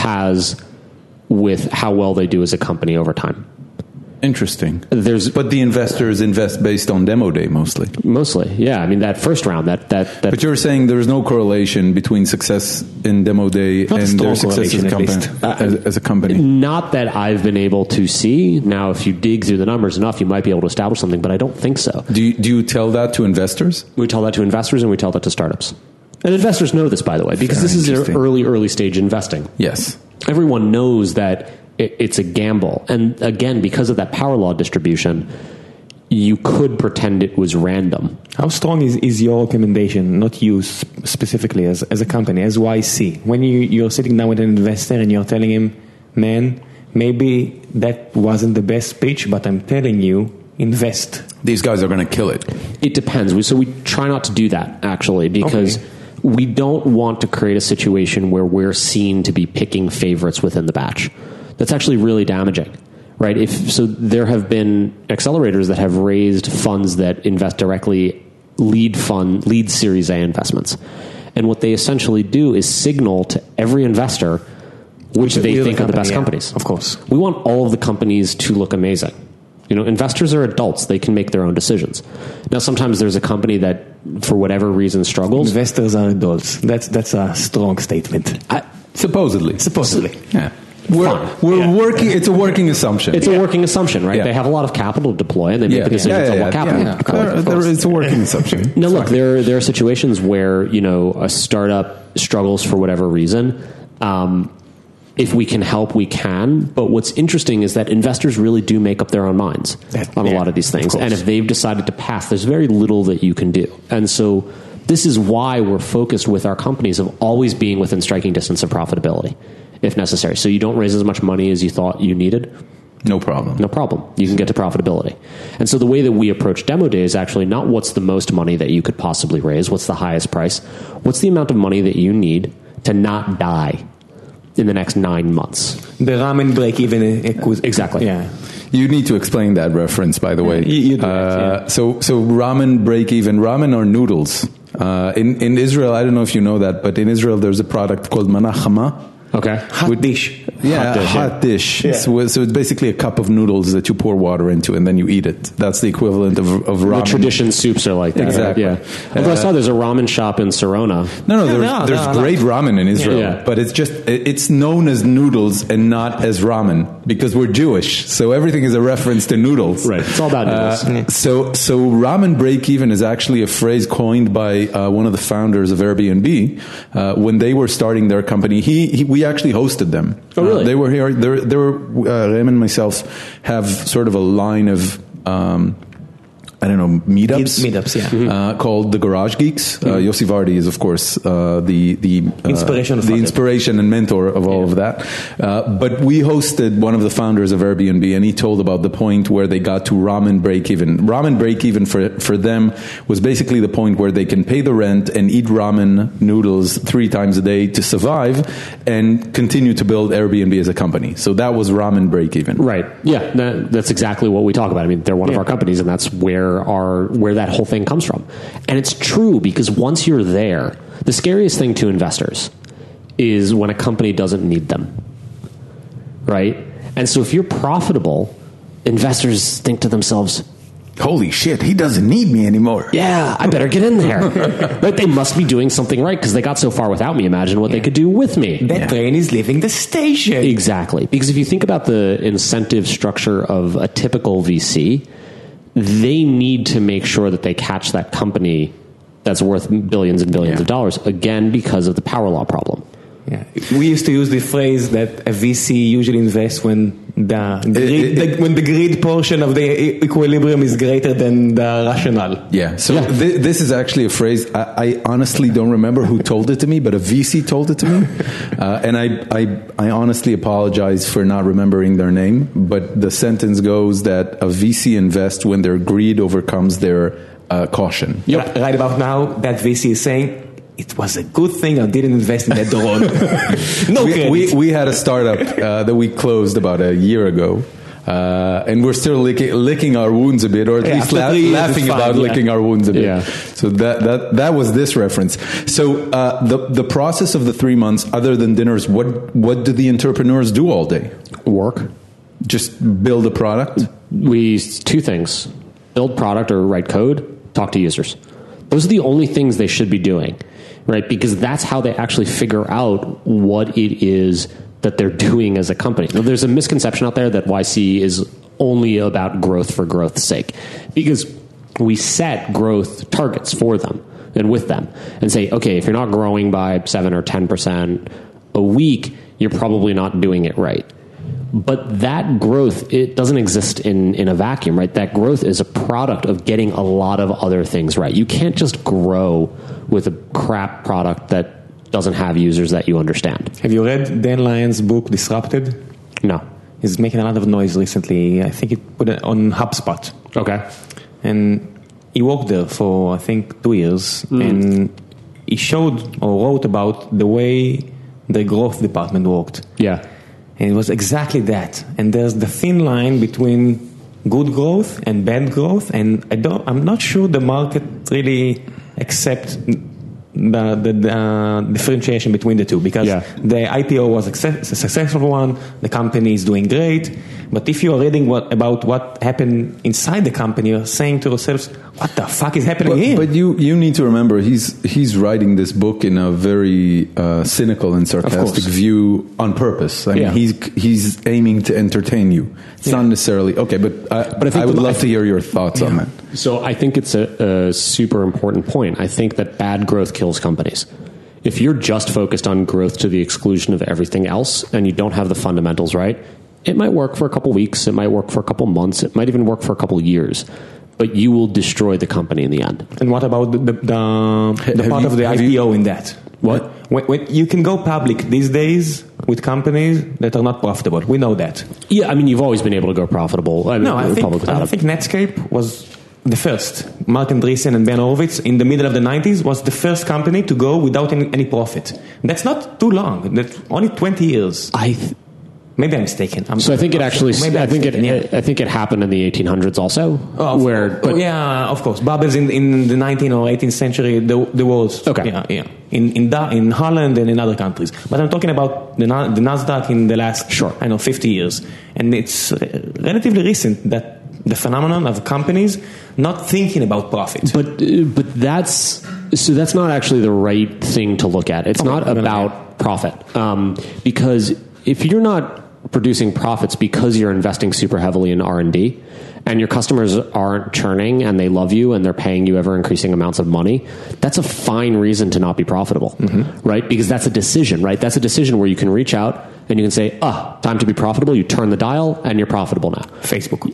has with how well they do as a company over time. Interesting. There's But the investors invest based on demo day mostly. mostly, yeah. I mean, that first round, that that that. But you're saying there's no correlation between success in demo day Not a and strong their success as a, correlation, company, at as, as a company. Not that I've been able to see. Now, if you dig through the numbers enough, you might be able to establish something, but I don't think so. Do you, do you tell that to investors? We tell that to investors and we tell that to startups. And investors know this, by the way, because Very this is their interesting. early, early stage investing. Yes. Everyone knows that it, it's a gamble. And again, because of that power law distribution, you could pretend it was random. How strong is, is your recommendation, not you sp- specifically as, as a company, as Y C? When you, you're sitting down with an investor and you're telling him, man, maybe that wasn't the best pitch, but I'm telling you, invest. These guys are going to kill it. It depends. We- So we try not to do that, actually, because Okay. we don't want to create a situation where we're seen to be picking favorites within the batch. That's actually really damaging, right? If so, there have been accelerators that have raised funds that invest directly, lead fund, lead Series A investments, and what they essentially do is signal to every investor which they You're the think are the best company, companies. yeah, of course. We want all of the companies to look amazing. You know, investors are adults; they can make their own decisions. Now, sometimes there's a company that, for whatever reason, struggles. Investors are adults. That's, that's a strong statement. I, Supposedly. Supposedly. Yeah. We're, Fine. we're Yeah. working, it's a working assumption. It's a working assumption, right? Yeah. They have a lot of capital to deploy, and they make yeah. the decisions yeah, yeah, on yeah, what capital yeah. to deploy. There- there- it's a working assumption. Now, look, there there are situations where you know a startup struggles for whatever reason. Um, if we can help, we can. But what's interesting is that investors really do make up their own minds That- on a yeah, lot of these of things, course. and if they've decided to pass, there's very little that you can do. And so, this is why we're focused with our companies of always being within striking distance of profitability, if necessary. So you don't raise as much money as you thought you needed. No problem. No problem. You can get to profitability. And so the way that we approach demo day is actually not what's the most money that you could possibly raise, what's the highest price, what's the amount of money that you need to not die in the next nine months. The ramen break even. Exactly. Yeah. You need to explain that reference, by the way. you- you do it, uh, yeah. So, so ramen break even. Ramen are noodles. Uh, in in Israel, I don't know if you know that, but in Israel, there's a product called manachama. Okay. Hot With- dish. Yeah, Hot dish, hot yeah. dish. So, so it's basically a cup of noodles that you pour water into, and then you eat it. That's the equivalent of, of The ramen. tradition soups are like that. right? Exactly. Yeah. Although I saw there's a ramen shop in Sorona. No, no, Yeah, there's, no, there's no, no. great ramen in Israel, Yeah. but it's just, it- it's known as noodles and not as ramen because we're Jewish. So everything is a reference to noodles. Right. It's all about noodles. Uh, so, so ramen break even is actually a phrase coined by uh, one of the founders of Airbnb uh, when they were starting their company. He, he we actually hosted them. Oh, really? Uh, they were here. There, there were uh, Rem and myself have sort of a line of. Um, I don't know, meetups. Meetups, yeah. Mm-hmm. Uh, called the Garage Geeks. Mm-hmm. Uh, Yossi Vardi is, of course, uh, the the uh, inspiration, the inspiration and mentor of all yeah. of that. Uh, but we hosted one of the founders of Airbnb, and he told about the point where they got to ramen break even. Ramen break even for for them was basically the point where they can pay the rent and eat ramen noodles three times a day to survive, and continue to build Airbnb as a company. So that was ramen break even. Right. Yeah. That, that's exactly what we talk about. I mean, they're one yeah. of our companies, and that's where our where that whole thing comes from. And it's true, because once you're there, the scariest thing to investors is when a company doesn't need them. Right? And so if you're profitable, investors think to themselves, holy shit, he doesn't need me anymore. Yeah, I better get in there. Right? They must be doing something right, because they got so far without me. Imagine what yeah. they could do with me. That yeah. train is leaving the station. Exactly. Because if you think about the incentive structure of a typical V C, they need to make sure that they catch that company that's worth billions and billions yeah. of dollars, again, because of the power law problem. Yeah. We used to use the phrase that a V C usually invests when the grid, it, it, the, when the grid portion of the equilibrium is greater than the rationale. Yeah. So yeah. Th- this is actually a phrase I, I honestly don't remember who told it to me, but a V C told it to me, uh, and I, I I honestly apologize for not remembering their name. But the sentence goes that a V C invests when their greed overcomes their uh, caution. Yep. Right about now, that V C is saying, it was a good thing I didn't invest in that drone. No we, credit. We, we had a startup uh, that we closed about a year ago. Uh, and we're still licking, licking our wounds a bit, or at yeah, least la- laughing fine, about yeah. licking our wounds a bit. Yeah. So that, that, that was this reference. So uh, the, the process of the three months, other than dinners, what, what do the entrepreneurs do all day? Work. Just build a product? We, two things. Build product or write code, talk to users. Those are the only things they should be doing. Right, because that's how they actually figure out what it is that they're doing as a company. Now, there's a misconception out there that Y C is only about growth for growth's sake, because we set growth targets for them and with them and say, okay, if you're not growing by seven or ten percent a week, you're probably not doing it right. But that growth, it doesn't exist in, in a vacuum, right? That growth is a product of getting a lot of other things right. You can't just grow with a crap product that doesn't have users that you understand. Have you read Dan Lyon's book, Disrupted? No. He's making a lot of noise recently. I think he put it on HubSpot. Okay. And he worked there for, I think, two years. Mm. And he showed or wrote about the way the growth department worked. Yeah. And it was exactly that. And there's the thin line between good growth and bad growth. And I don't, I'm not sure the market really accepts the, the, the uh, differentiation between the two. Because yeah. the I P O was a, success, a successful one. The company is doing great. But if you are reading what, about what happened inside the company, you're saying to yourselves, what the fuck is happening but, here? But you, you need to remember, he's he's writing this book in a very uh, cynical and sarcastic view on purpose. I mean, yeah. he's he's aiming to entertain you. It's yeah. not necessarily okay, but I, but I, think I would the, love I think, to hear your thoughts yeah. on that. So I think it's a, a super important point. I think that bad growth kills companies. If you're just focused on growth to the exclusion of everything else, and you don't have the fundamentals right, it might work for a couple weeks, it might work for a couple months, it might even work for a couple years, but you will destroy the company in the end. And what about the, the, the, the part you, of the I P O you, in that? What? When, when you can go public these days with companies that are not profitable. We know that. Yeah, I mean, you've always been able to go profitable. I mean, no, I think, I think Netscape was the first. Mark Andreessen and Ben Horowitz in the middle of the nineties was the first company to go without any, any profit. That's not too long. That's only twenty years. I... Th- Maybe I'm mistaken. I'm so I think it actually. Maybe I think mistaken, it. Yeah. I think it happened in the eighteen hundreds also. Oh, where, but, oh, yeah, of course, bubbles in, in the nineteenth or eighteenth century. The the was okay. Yeah, yeah. In in da, in Holland and in other countries. But I'm talking about the the Nasdaq in the last sure. I know fifty years, and it's relatively recent that the phenomenon of companies not thinking about profit. But but that's so that's not actually the right thing to look at. It's okay, not about profit um, because if you're not producing profits because you're investing super heavily in R and D and your customers aren't churning and they love you and they're paying you ever increasing amounts of money, that's a fine reason to not be profitable, mm-hmm. right? Because that's a decision, right? That's a decision where you can reach out and you can say, ah, time to be profitable. You turn the dial and you're profitable now. Facebook.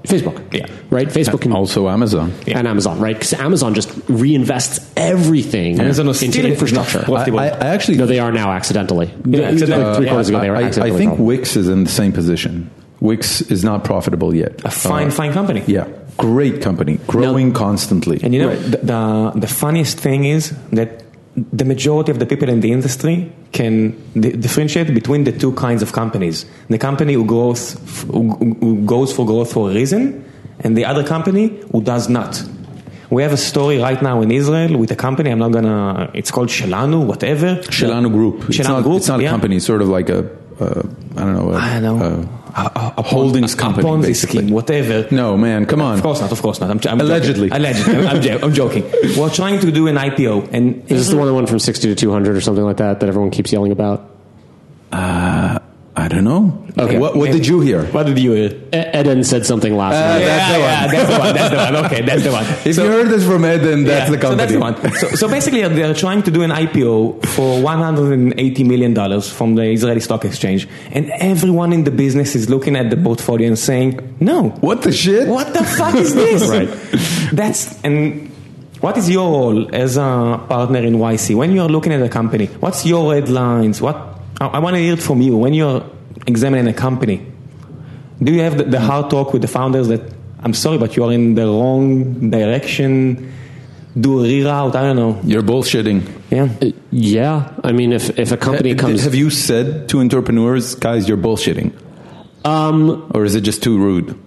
Facebook. Yeah. Right? Facebook can Also Amazon. Yeah. and Amazon, right? Because Amazon just reinvests everything Amazon was into still infrastructure. not- I, I actually, No, they are now accidentally. Yeah, accidentally. Like three Yeah. quarters ago, they were I, I accidentally. think profitable. Wix is in the same position. Wix is not profitable yet. A fine, fine company. Yeah, great company, growing constantly. And you know, the, the the funniest thing is that the majority of the people in the industry can di- differentiate between the two kinds of companies. The company who goes, f- who, who goes for growth for a reason, and the other company who does not. We have a story right now in Israel with a company, I'm not gonna, it's called Shelanu, whatever. Shelanu Group. It's Shelanu not, Group, it's not a yeah. company, it's sort of like a, uh, I don't know, a, I don't know. a- A, a, a holdings a, company, a Ponzi basically. scheme, whatever. No, man, come on. Of course not, of course not. I'm, I'm Allegedly. Joking. Allegedly. I'm, I'm, jo- I'm joking. We're trying to do an I P O. And Is this the one that went from sixty to two hundred or something like that that everyone keeps yelling about? Uh, I don't know. Okay. What, what did you hear? What did you hear? E- Eden said something last Uh, night. that's the yeah, one. that's the one. That's the one. Okay, that's the one. If you heard this from Ed, then that's Yeah, the company. So that's the one. So, so basically, they're trying to do an I P O for one hundred eighty million dollars from the Israeli Stock Exchange, and everyone in the business is looking at the portfolio and saying, "No, What the shit? what the fuck is this?" Right. That's and. What is your role as a partner in Y C when you're looking at a company? What's your red lines? What I, I want to hear it from you when you're examining a company. Do you have the, the hard talk with the founders that I'm sorry, but you are in the wrong direction? Do a reroute? I don't know. You're bullshitting. Yeah. Yeah, I mean, if if a company Ha- comes, Have you said to entrepreneurs, guys, you're bullshitting? um, Or is it just too rude?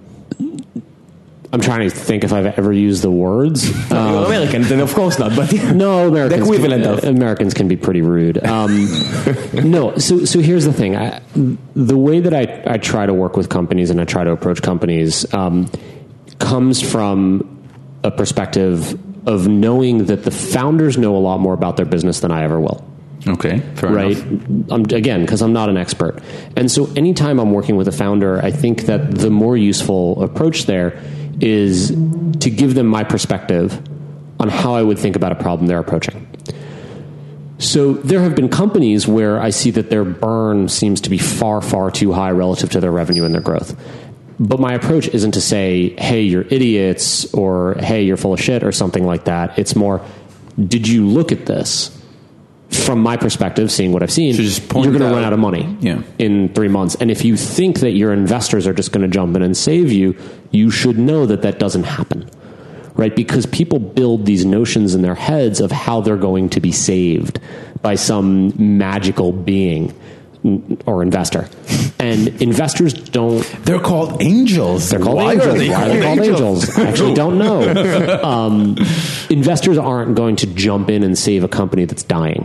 I'm trying to think if I've ever used the words. No, you're American, then of course not. But No, Americans. The equivalent can, of. Americans can be pretty rude. Um, no, so so here's the thing. I, the way that I, I try to work with companies and I try to approach companies um, comes from a perspective of knowing that the founders know a lot more about their business than I ever will. Okay, fair Right. enough. I'm, again, because I'm not an expert. And so anytime I'm working with a founder, I think that the more useful approach there is to give them my perspective on how I would think about a problem they're approaching. So there have been companies where I see that their burn seems to be far, far too high relative to their revenue and their growth. But my approach isn't to say, hey, you're idiots, or hey, you're full of shit, or something like that. It's more, did you look at this? From my perspective, seeing what I've seen, So just point you're going to out- run out of money Yeah. in three months. And if you think that your investors are just going to jump in and save you, you should know that that doesn't happen, right? Because people build these notions in their heads of how they're going to be saved by some magical being or investor. And investors don't... They're called angels. They're called Why angels. Are they Why are they called angels? I actually don't know. Um, investors aren't going to jump in and save a company that's dying,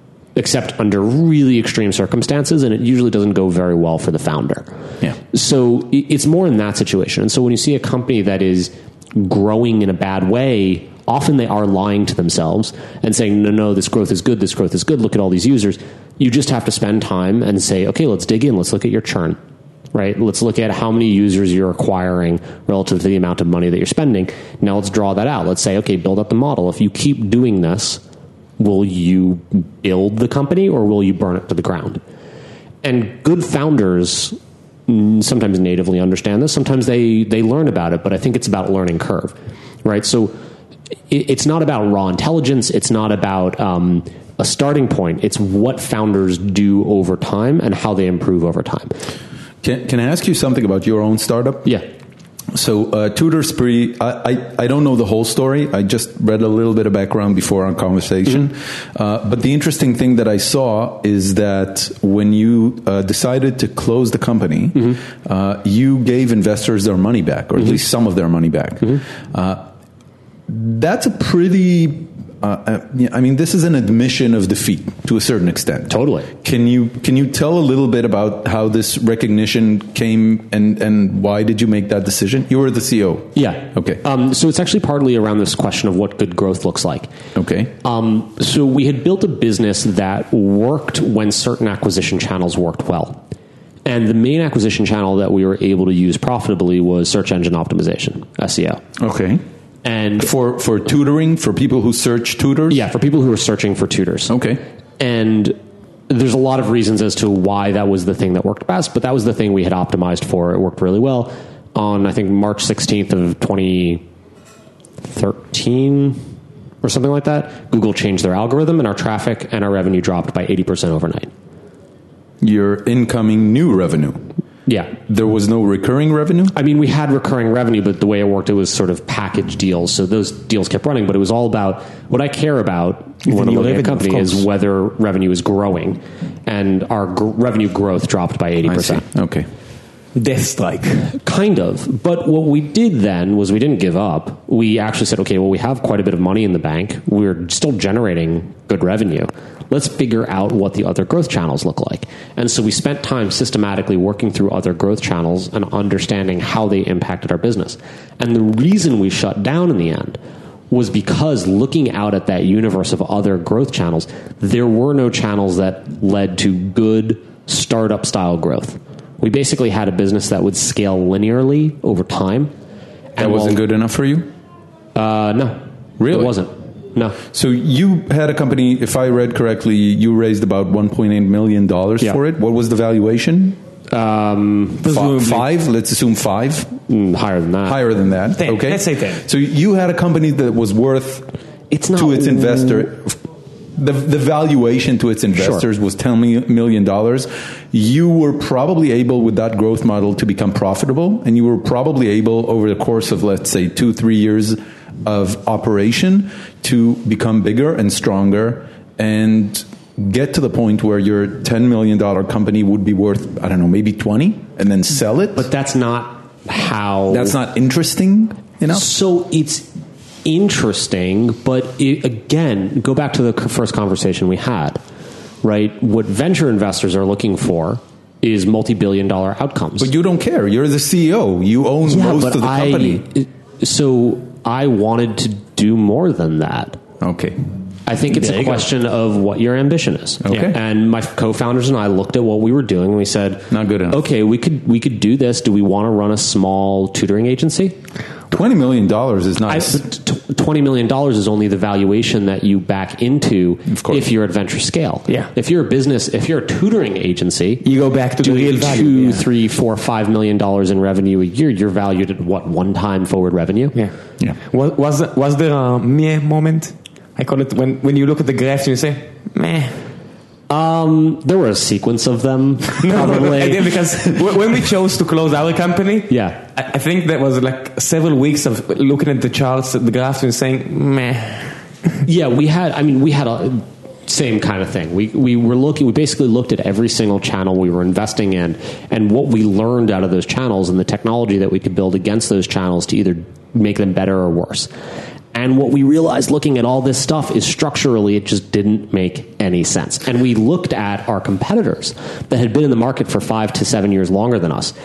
except under really extreme circumstances, and it usually doesn't go very well for the founder. Yeah. So i- it's more in that situation. And so when you see a company that is growing in a bad way, often they are lying to themselves and saying, no, no, this growth is good, this growth is good, look at all these users. You just have to spend time and say, okay, let's dig in, let's look at your churn, right? Let's look at how many users you're acquiring relative to the amount of money that you're spending. Now let's draw that out. Let's say, okay, build up the model. If you keep doing this, will you build the company or will you burn it to the ground? And good founders mm, sometimes natively understand this. Sometimes they, they learn about it, but I think it's about learning curve, right? So it, it's not about raw intelligence. It's not about um, a starting point. It's what founders do over time and how they improve over time. Can, can I ask you something about your own startup? Yeah. So, uh, Tutor Spree, I, I, I don't know the whole story. I just read a little bit of background before our conversation. Mm-hmm. Uh, but the interesting thing that I saw is that when you uh, decided to close the company, mm-hmm. uh, you gave investors their money back, or mm-hmm. at least some of their money back. Mm-hmm. Uh, that's a pretty... Uh, I mean, this is an admission of defeat to a certain extent. Totally. Can you can you tell a little bit about how this recognition came and, and why did you make that decision? You were the C E O. Yeah. Okay. Um, so it's actually partly around this question of what good growth looks like. Okay. Um, so we had built a business that worked when certain acquisition channels worked well. And the main acquisition channel that we were able to use profitably was search engine optimization, S E O. Okay. And for for tutoring, for people who search tutors? Yeah, for people who are searching for tutors. Okay. And there's a lot of reasons as to why that was the thing that worked best, but that was the thing we had optimized for. It worked really well. on, I think, March sixteenth of twenty thirteen or something like that, Google changed their algorithm and our traffic and our revenue dropped by eighty percent overnight. Your incoming new revenue. Yeah. There was no recurring revenue? I mean, we had recurring revenue, but the way it worked, it was sort of package deals. So those deals kept running, but it was all about what I care about when I'm looking at a company is whether revenue is growing. And our gr- revenue growth dropped by eighty percent. I see. Okay. Death strike. Kind of. But what we did then was we didn't give up. We actually said, okay, well, we have quite a bit of money in the bank. We're still generating good revenue. Let's figure out what the other growth channels look like. And so we spent time systematically working through other growth channels and understanding how they impacted our business. And the reason we shut down in the end was because looking out at that universe of other growth channels, there were no channels that led to good startup style growth. We basically had a business that would scale linearly over time. That and wasn't well, good enough for you? Uh, no. Really? It wasn't. No. So you had a company, if I read correctly, you raised about one point eight million dollars yeah. for it. What was the valuation? Um, F- five? Let's assume five? Mm, higher than that. Higher than that. ten. Okay. Let's say ten. So you had a company that was worth it's not, to its investor... The, the valuation to its investors sure. was ten million dollars. You were probably able with that growth model to become profitable, and you were probably able over the course of, let's say, two, three years of operation to become bigger and stronger and get to the point where your ten million dollars company would be worth, I don't know, maybe twenty and then sell it. But that's not how... That's not interesting enough? So it's... interesting, but it, again, go back to the first conversation we had, right? What venture investors are looking for is multi-billion dollar outcomes. But you don't care. You're the C E O. You own yeah, most of the I, company. So I wanted to do more than that. Okay. I think it's there a question go. of what your ambition is. Okay. And my co-founders and I looked at what we were doing and we said, not good enough. Okay, we could we could do this. Do we want to run a small tutoring agency? twenty million dollars is nice. I, t- twenty million dollars is only the valuation that you back into if you're at venture scale. Yeah. If you're a business, if you're a tutoring agency, you go back to the real value. Two, yeah. three, four, five million dollars in revenue a year, you're valued at what, one time forward revenue? Yeah. Yeah. Was, was, was there a meh moment? I call it when, when you look at the graphs and you say, meh. Um, there were a sequence of them, probably. No, because when we chose to close our company, yeah, I think that was like several weeks of looking at the charts, the graphs, and saying, meh. Yeah, we had, I mean, we had a same kind of thing. We we were looking, we basically looked at every single channel we were investing in and what we learned out of those channels and the technology that we could build against those channels to either make them better or worse. And what we realized looking at all this stuff is structurally it just didn't make any sense. And we looked at our competitors that had been in the market for five to seven years longer than us.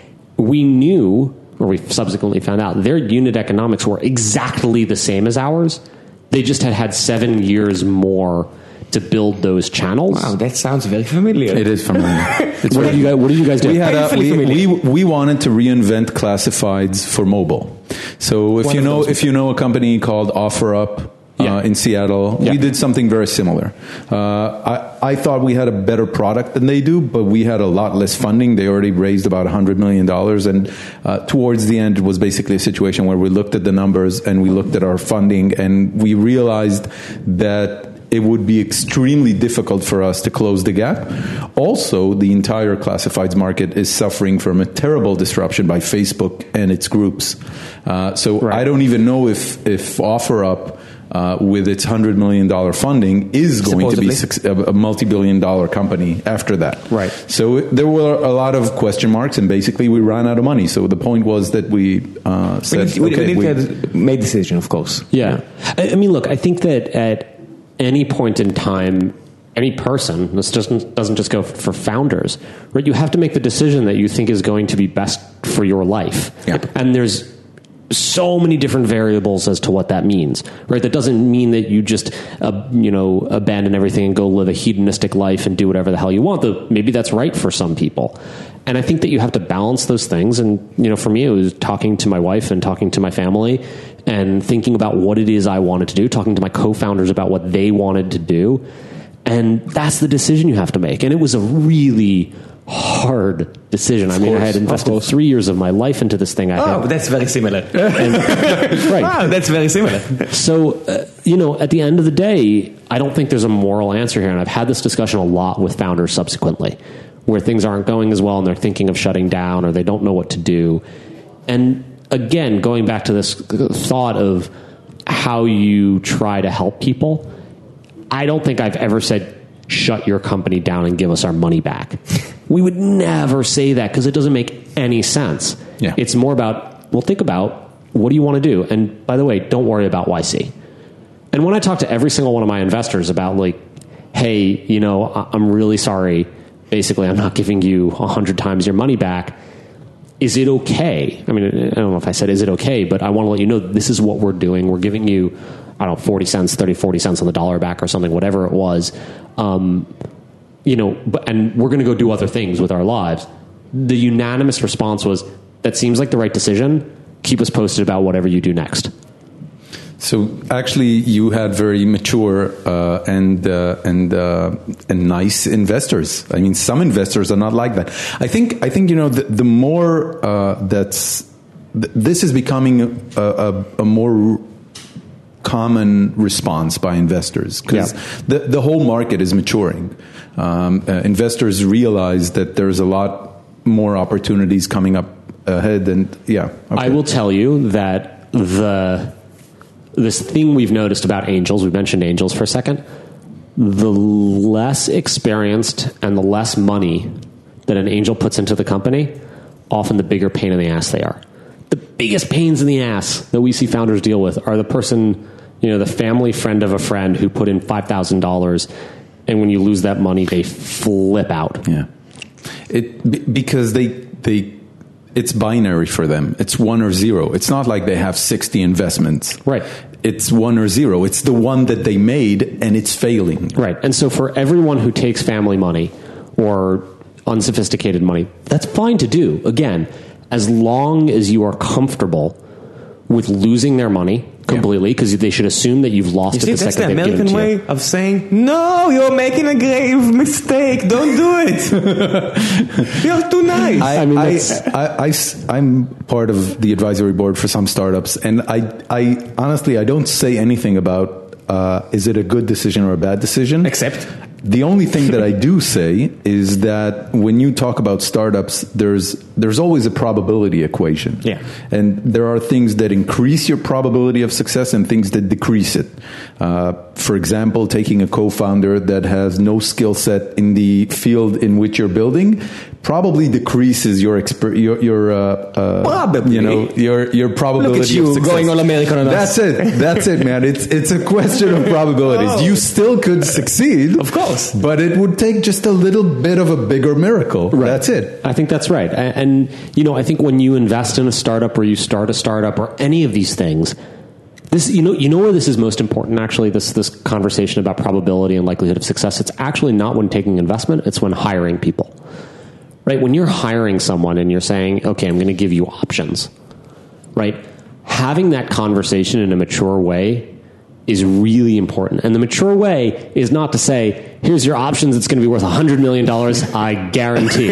We knew, or we subsequently found out, their unit economics were exactly the same as ours. They just had had seven years more to build those channels. Wow, that sounds very familiar. It is familiar. It's what, did you guys, what did you guys do? We, had a, we, we, we wanted to reinvent classifieds for mobile. So if One you know if you know a company called OfferUp yeah. uh, in Seattle, yeah. we did something very similar. Uh, I, I thought we had a better product than they do, but we had a lot less funding. They already raised about one hundred million dollars. And uh, towards the end, it was basically a situation where we looked at the numbers and we looked at our funding and we realized that it would be extremely difficult for us to close the gap. Also, the entire classifieds market is suffering from a terrible disruption by Facebook and its groups. Uh, so right. I don't even know if, if OfferUp, uh, with its one hundred million dollars funding, is going Supposedly. to be a multi-billion dollar company after that. Right. So there were a lot of question marks, and basically we ran out of money. So the point was that we uh, said, we, okay, we, we, we we made a decision, of course. Yeah. I, I mean, look, I think that at any point in time, any person, this doesn't doesn't just go for founders, right? You have to make the decision that you think is going to be best for your life. Yep. And there's so many different variables as to what that means, right? That doesn't mean that you just, uh, you know, abandon everything and go live a hedonistic life and do whatever the hell you want. Though maybe that's right for some people. And I think that you have to balance those things. And, you know, for me, it was talking to my wife and talking to my family and thinking about what it is I wanted to do, talking to my co-founders about what they wanted to do. And that's the decision you have to make. And it was a really hard decision. I mean, I had invested three years of my life into this thing. I Oh, had, that's very similar. and, right. Wow, that's very similar. So, uh, you know, at the end of the day, I don't think there's a moral answer here. And I've had this discussion a lot with founders subsequently, where things aren't going as well and they're thinking of shutting down or they don't know what to do. And again, going back to this thought of how you try to help people, I don't think I've ever said, shut your company down and give us our money back. We would never say that because it doesn't make any sense. Yeah. It's more about, well, think about what do you want to do? And by the way, don't worry about Y C. And when I talk to every single one of my investors about like, hey, you know, I'm really sorry. Basically, I'm not giving you a hundred times your money back. Is it okay? I mean, I don't know if I said, is it okay? But I want to let you know, this is what we're doing. We're giving you, I don't know, forty cents, thirty, forty cents on the dollar back or something, whatever it was. Um, you know, but, and we're going to go do other things with our lives. The unanimous response was, that seems like the right decision. Keep us posted about whatever you do next. So actually, you had very mature uh, and uh, and uh, and nice investors. I mean, some investors are not like that. I think I think you know the, the more uh, that's th- this is becoming a, a, a more common response by investors because Yeah. the the whole market is maturing. Um, uh, investors realize that there's a lot more opportunities coming up ahead, and yeah, okay. I will tell you that the this thing we've noticed about angels, we mentioned angels for a second, the less experienced and the less money that an angel puts into the company, often the bigger pain in the ass they are. The biggest pains in the ass that we see founders deal with are the person, you know, the family friend of a friend who put in five thousand dollars, and when you lose that money, they flip out. Yeah, it b- because they they it's binary for them. It's one or zero. It's not like they have sixty investments. Right. It's one or zero. It's the one that they made and it's failing. Right. And so for everyone who takes family money or unsophisticated money, that's fine to do. Again, as long as you are comfortable with losing their money completely, because they should assume that you've lost You it see, the that's the second they've given American it to you. way of saying, no, you're making a grave mistake. Don't do it. You're too nice. I, I mean, I, that's- I, am part of the advisory board for some startups, and I, I honestly, I don't say anything about uh, is it a good decision or a bad decision. Except? The only thing that I do say is that when you talk about startups, there's there's always a probability equation. Yeah. And there are things that increase your probability of success and things that decrease it. Uh, for example, taking a co-founder that has no skill set in the field in which you're building probably decreases your exper- your your uh, uh, Probably. you know your your probability Look at you of success. going all American on us. That's it. That's it, man. It's it's a question of probabilities. Oh. You still could succeed, Of course. but it would take just a little bit of a bigger miracle. Right. That's it. I think that's right. And, and, you know, I think when you invest in a startup or you start a startup or any of these things, this, you know, you know where this is most important, actually, this, this conversation about probability and likelihood of success. It's actually not when taking investment. It's when hiring people, right? When you're hiring someone and you're saying, okay, I'm going to give you options, right? Having that conversation in a mature way is really important. And the mature way is not to say, here's your options, it's going to be worth one hundred million dollars, I guarantee.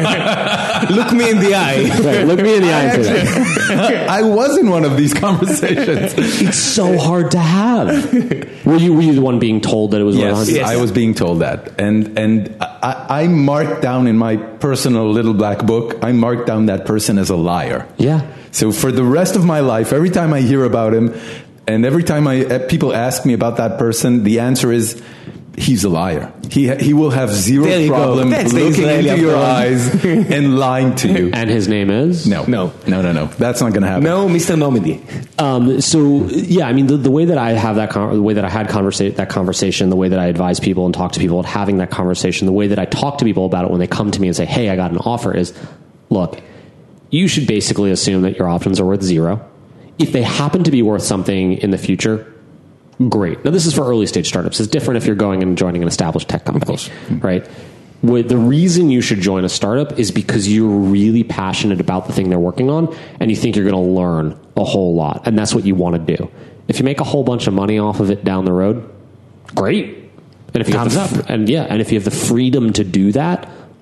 Look me in the eye. Right, look me in the eye and say that. I was in one of these conversations. It's so hard to have. Were you, were you the one being told that it was worth one Yes, hundred? Yes. I was being told that, and and I, I marked down in my personal little black book. I marked down that person as a liar. Yeah. So for the rest of my life, every time I hear about him, and every time I uh, people ask me about that person, the answer is he's a liar. He he will have zero There you go. problem That's the looking Israeli into your approach. eyes and lying to you. And his name is? No, No. no, no, no. That's not going to happen. No, Mister Normandy. Um, so yeah, I mean, the, the way that I have that, con- the way that I had conversa- that conversation, the way that I advise people and talk to people about having that conversation, the way that I talk to people about it when they come to me and say, hey, I got an offer is, look, you should basically assume that your options are worth zero. If they happen to be worth something in the future, great. Now, this is for early stage startups. It's different if you're going and joining an established tech company, right? What, the reason you should join a startup is because you're really passionate about the thing they're working on and you think you're going to learn a whole lot. And that's what you want to do. If you make a whole bunch of money off of it down the road, great. And if you have Thumbs the, up. and yeah, and if you have the freedom to do that,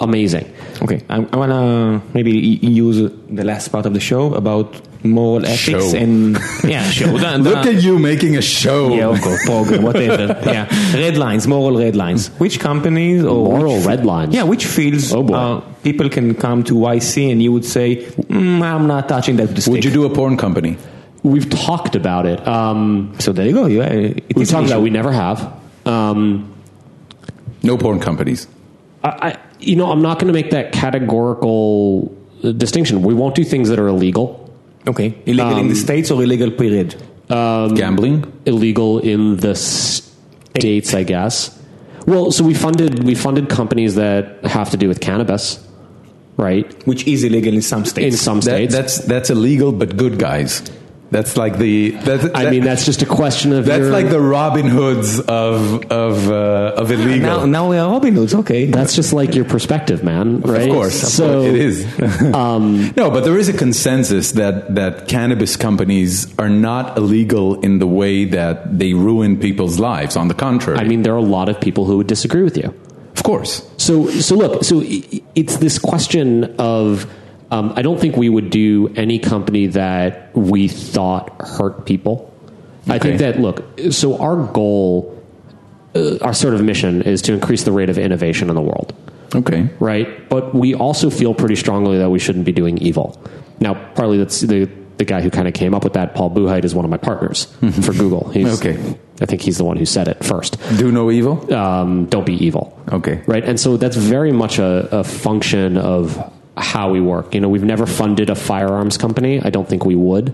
amazing. Okay, I, I want to maybe use the last part of the show about moral ethics Show. and yeah, show. The, the, Look at you making a show. yeah, of course, program, whatever. Yeah, red lines, moral red lines. Which companies or Moral which, red lines? Yeah, which fields Oh, boy. uh, people can come to Y C and you would say, mm, I'm not touching that with the stick. Would you do a porn company? We've talked about it. Um, So there you go. You, uh, it we've is an talked about issue. it. We never have. Um, No porn companies. I, I, you know, I'm not going to make that categorical uh, distinction. We won't do things that are illegal. Okay, illegal in the States or illegal period? Gambling? Illegal in the states, I guess. Well, so we funded we funded companies that have to do with cannabis, right? Which is illegal in some states. In some That, states. that's that's illegal, but good guys. That's like the. That, I that- mean, that's just a question of that's your- like the Robin Hoods of of uh, of illegal. now, now we are Robin Hoods, okay. That's just like your perspective, man. Right? Of course, of So course it is. no, but there is a consensus that that cannabis companies are not illegal in the way that they ruin people's lives. On the contrary, I mean, there are a lot of people who would disagree with you. of course. So, so look, so i- it's this question of, um, I don't think we would do any company that we thought hurt people. I think Okay. that, look, so our goal, uh, our sort of mission is to increase the rate of innovation in the world, Okay. right? But we also feel pretty strongly that we shouldn't be doing evil. Now, partly that's the, the guy who kind of came up with that, Paul Buchheit, is one of my partners for Google. He's, Okay. I think he's the one who said it first. Do no evil. Um, don't be evil. Okay. Right. And so that's very much a, a function of how we work. You know, we've never funded a firearms company. I don't think we would.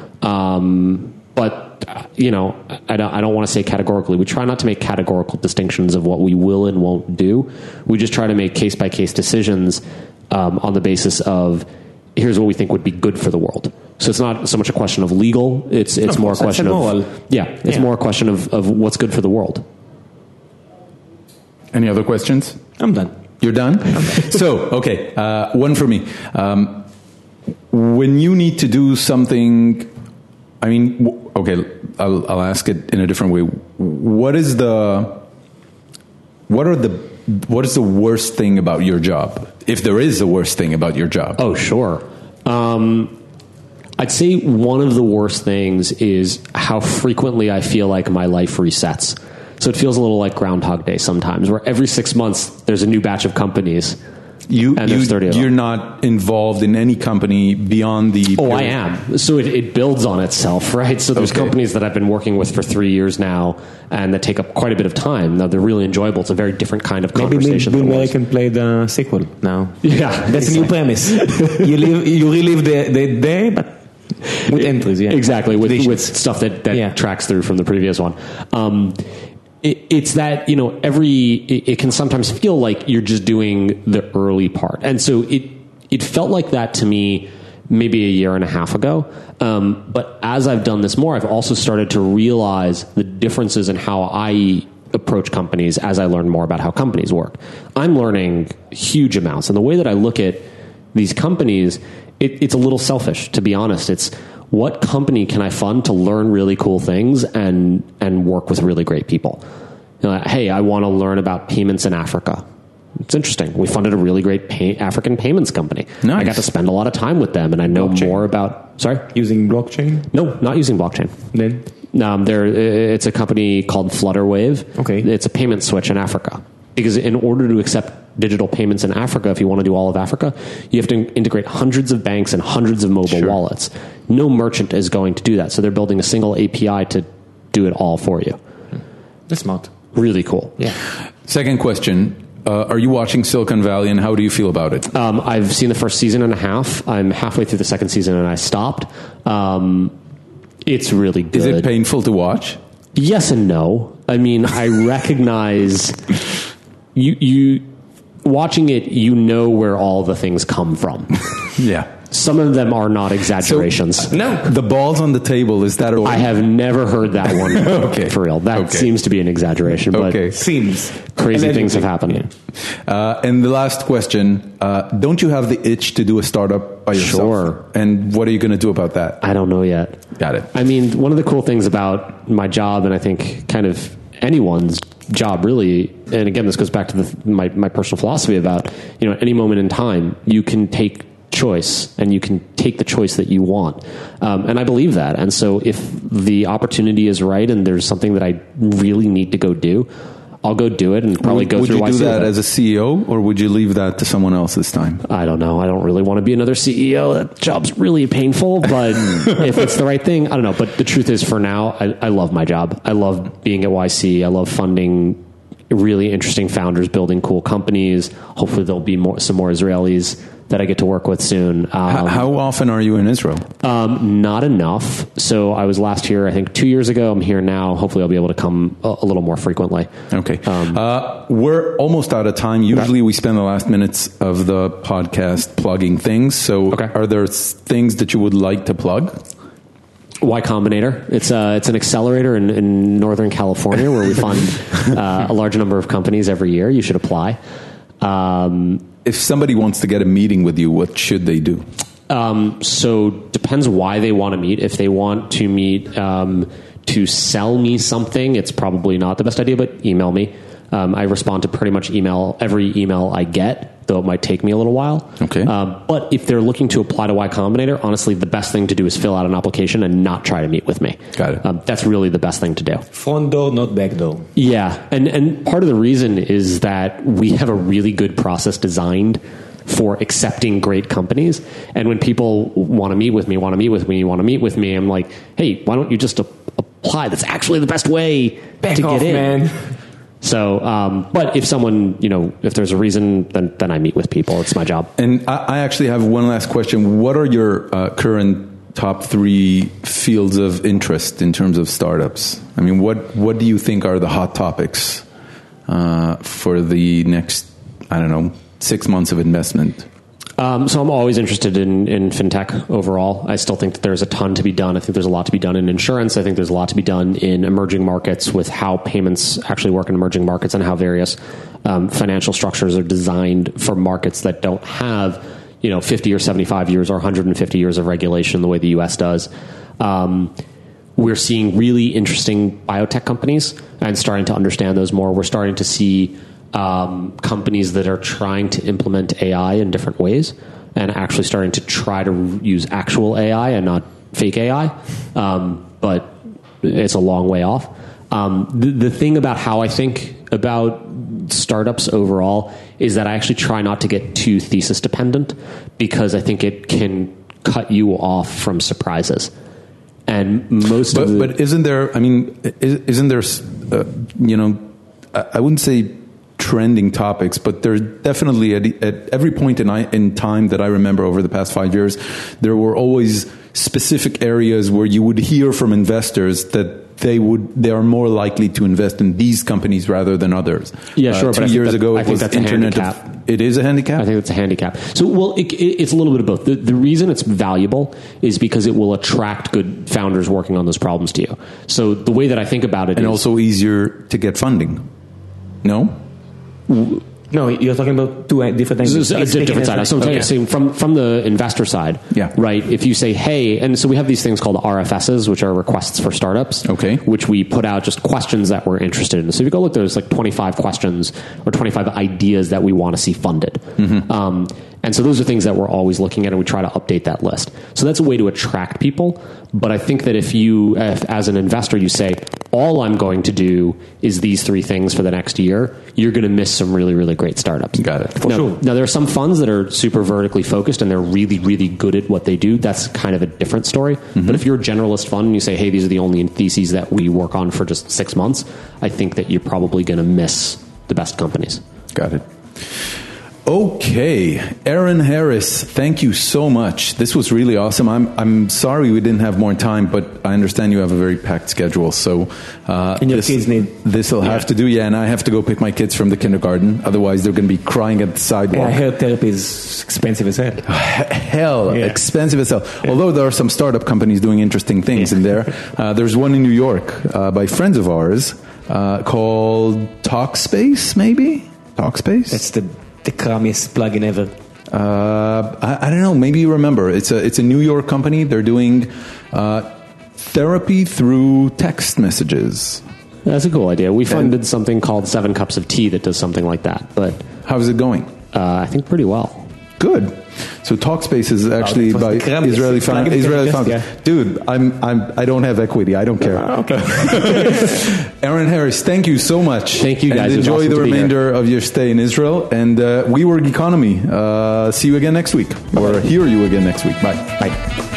Um, but, uh, you know, I don't, I don't want to say categorically. We try not to make categorical distinctions of what we will and won't do. We just try to make case by case decisions um, on the basis of here's what we think would be good for the world. So it's not so much a question of legal. It's it's Of more a course, question that's of a moral. yeah. It's Yeah. more a question of, of what's good for the world. Any other questions? I'm done. You're done? So, okay, uh, one for me. Um, when you need to do something, I mean, w- okay, I'll, I'll ask it in a different way. What is the, what are the, what is the worst thing about your job? If there is a worst thing about your job. Oh, sure. Um, I'd say one of the worst things is how frequently I feel like my life resets. So it feels a little like Groundhog Day sometimes, where every six months there's a new batch of companies. You, And you, there's thirty of them. you're not involved in any company beyond the... Oh, I am. So it, it builds on itself, right? So there's Okay. companies that I've been working with for three years now, and that take up quite a bit of time. Now they're really enjoyable. It's a very different kind of Maybe Bill, conversation. Bill than it Murray was. can play the sequel now. Yeah, That's a new premise. you live, you relive the, the day, but with entries, yeah. Exactly, with, Traditions. with stuff that, that Yeah. tracks through from the previous one. Um, it, it's that, you know, every, it, it can sometimes feel like you're just doing the early part. And so it, it felt like that to me maybe a year and a half ago. Um, but as I've done this more, I've also started to realize the differences in how I approach companies as I learn more about how companies work. I'm learning huge amounts. And the way that I look at these companies, it, it's a little selfish, to be honest. It's what company can I fund to learn really cool things and, and work with really great people? You know, hey, I want to learn about payments in Africa. It's interesting. We funded a really great pay, African payments company. Nice. I got to spend a lot of time with them, and I know Blockchain. more about. Sorry, Using blockchain, no, not using blockchain. then Um, there, it's a company called Flutterwave. Okay. It's a payment switch in Africa. Because in order to accept digital payments in Africa, if you want to do all of Africa, you have to integrate hundreds of banks and hundreds of mobile Sure. wallets. No merchant is going to do that. So they're building a single A P I to do it all for you. that's smart. Really cool. Yeah. Second question. Uh, are you watching Silicon Valley and how do you feel about it? Um, I've seen the first season and a half. I'm halfway through the second season and I stopped. Um, it's really good. Is it painful to watch? Yes and no. I mean, I recognize you. You watching it, you know where all the things come from. Yeah. Some of them are not exaggerations. No. The balls on the table, is that... I have never heard that one Okay. for real. That Okay. seems to be an exaggeration, but Okay. Seems crazy Allegedly. things have happened. Uh, and the last question, uh, don't you have the itch to do a startup by yourself? Sure. And what are you going to do about that? I don't know yet. Got it. I mean, one of the cool things about my job, and I think kind of anyone's job really, and again, this goes back to the, my, my personal philosophy about, you know, at any moment in time, you can take choice and you can take the choice that you want. Um, and I believe that. And so if the opportunity is right and there's something that I really need to go do, I'll go do it and probably would, go would through. Would you do that it. as a C E O, or would you leave that to someone else this time? I don't know. I don't really want to be another C E O. That job's really painful, but if it's the right thing, I don't know. But the truth is, for now, I, I love my job. I love being at Y C. I love funding really interesting founders, building cool companies. Hopefully there'll be more, some more Israelis that I get to work with soon. Um, how, how often are you in Israel? Um, not enough. So I was last here, I think two years ago. I'm here now. Hopefully I'll be able to come a, a little more frequently. Okay. Um, uh, we're almost out of time. Usually we spend the last minutes of the podcast plugging things. So okay. Are there things that you would like to plug? Y Combinator. It's uh, it's an accelerator in, in Northern California where we fund uh, a large number of companies every year. You should apply. Um, if somebody wants to get a meeting with you, what should they do? Um, so depends why they want to meet. If they want to meet um, to sell me something, it's probably not the best idea, but email me. Um, I respond to pretty much email, every email I get, though it might take me a little while. Okay. Um, but if they're looking to apply to Y Combinator, honestly, the best thing to do is fill out an application and not try to meet with me. Got it. Um, that's really the best thing to do. Front door, not back door. Yeah. And, and part of the reason is that we have a really good process designed for accepting great companies. And when people want to meet with me, want to meet with me, want to meet with me, I'm like, hey, why don't you just a- apply? That's actually the best way Back to off, get in. Man. So, um, but if someone, you know, if there's a reason, then, then I meet with people. It's my job. And I, I actually have one last question. What are your uh, current top three fields of interest in terms of startups? I mean, what, what do you think are the hot topics uh, for the next, I don't know, six months of investment? Um, so I'm always interested in, in fintech overall. I still think that there's a ton to be done. I think there's a lot to be done in insurance. I think there's a lot to be done in emerging markets with how payments actually work in emerging markets and how various um, financial structures are designed for markets that don't have, you know, fifty or seventy-five years or one hundred fifty years of regulation the way the U S does. Um, we're seeing really interesting biotech companies and starting to understand those more. We're starting to see Um, companies that are trying to implement A I in different ways and actually starting to try to use actual A I and not fake A I. Um, but it's a long way off. Um, the, the thing about how I think about startups overall is that I actually try not to get too thesis dependent because I think it can cut you off from surprises. And most but, of the, but isn't there, I mean, isn't there, uh, you know, I, I wouldn't say trending topics, but there's definitely at, at every point in, I, in time that I remember over the past five years, there were always specific areas where you would hear from investors that they would they are more likely to invest in these companies rather than others. Yeah, sure. Uh, two but years that, ago, I it think was that's Internet a handicap. Of, it is a handicap? I think it's a handicap. So, well, it, it, it's a little bit of both. The, the reason it's valuable is because it will attract good founders working on those problems to you. So the way that I think about it and is... also easier to get funding. No? No, you're talking about two different things. This is a di- different side. So I'm okay. saying from from the investor side, Yeah. right? If you say, hey, and so we have these things called R F Ss, which are requests for startups, Okay. which we put out just questions that we're interested in. So if you go look, there's like twenty-five questions or twenty-five ideas that we want to see funded. Mm-hmm. Um, and so those are things that we're always looking at, and we try to update that list. So that's a way to attract people. But I think that if you, if, as an investor, you say, all I'm going to do is these three things for the next year, you're going to miss some really, really great startups. Got it. For now, sure. Now, there are some funds that are super vertically focused and they're really, really good at what they do. That's kind of a different story. Mm-hmm. But if you're a generalist fund and you say, hey, these are the only theses that we work on for just six months, I think that you're probably going to miss the best companies. Got it. Okay, Aaron Harris, thank you so much. This was really awesome. I'm I'm sorry we didn't have more time, but I understand you have a very packed schedule. So uh, and your this, kids need. This will have to do. Yeah, and I have to go pick my kids from the kindergarten. Otherwise, they're going to be crying at the sidewalk. Yeah, I heard therapy is expensive as hell. Hell, Yeah. expensive as hell. Yeah. Although there are some startup companies doing interesting things yeah. in there. Uh, there's one in New York uh, by friends of ours uh, called Talkspace, maybe? Talkspace? That's the, the crummiest plugin ever. Uh, I, I don't know. Maybe you remember. It's a it's a New York company. They're doing uh, therapy through text messages. That's a cool idea. We funded and, something called Seven Cups of Tea that does something like that. But how's it going? Uh, I think pretty well. Good. So Talkspace is actually oh, by Israeli found. Israeli found. Yeah. Dude, I'm I'm I don't have equity. I don't care. Okay. Aaron Harris, thank you so much. Thank you guys. And enjoy awesome the remainder of your stay in Israel. And uh, WeWork Economy. Uh, see you again next week, or hear you again next week. Bye. Bye.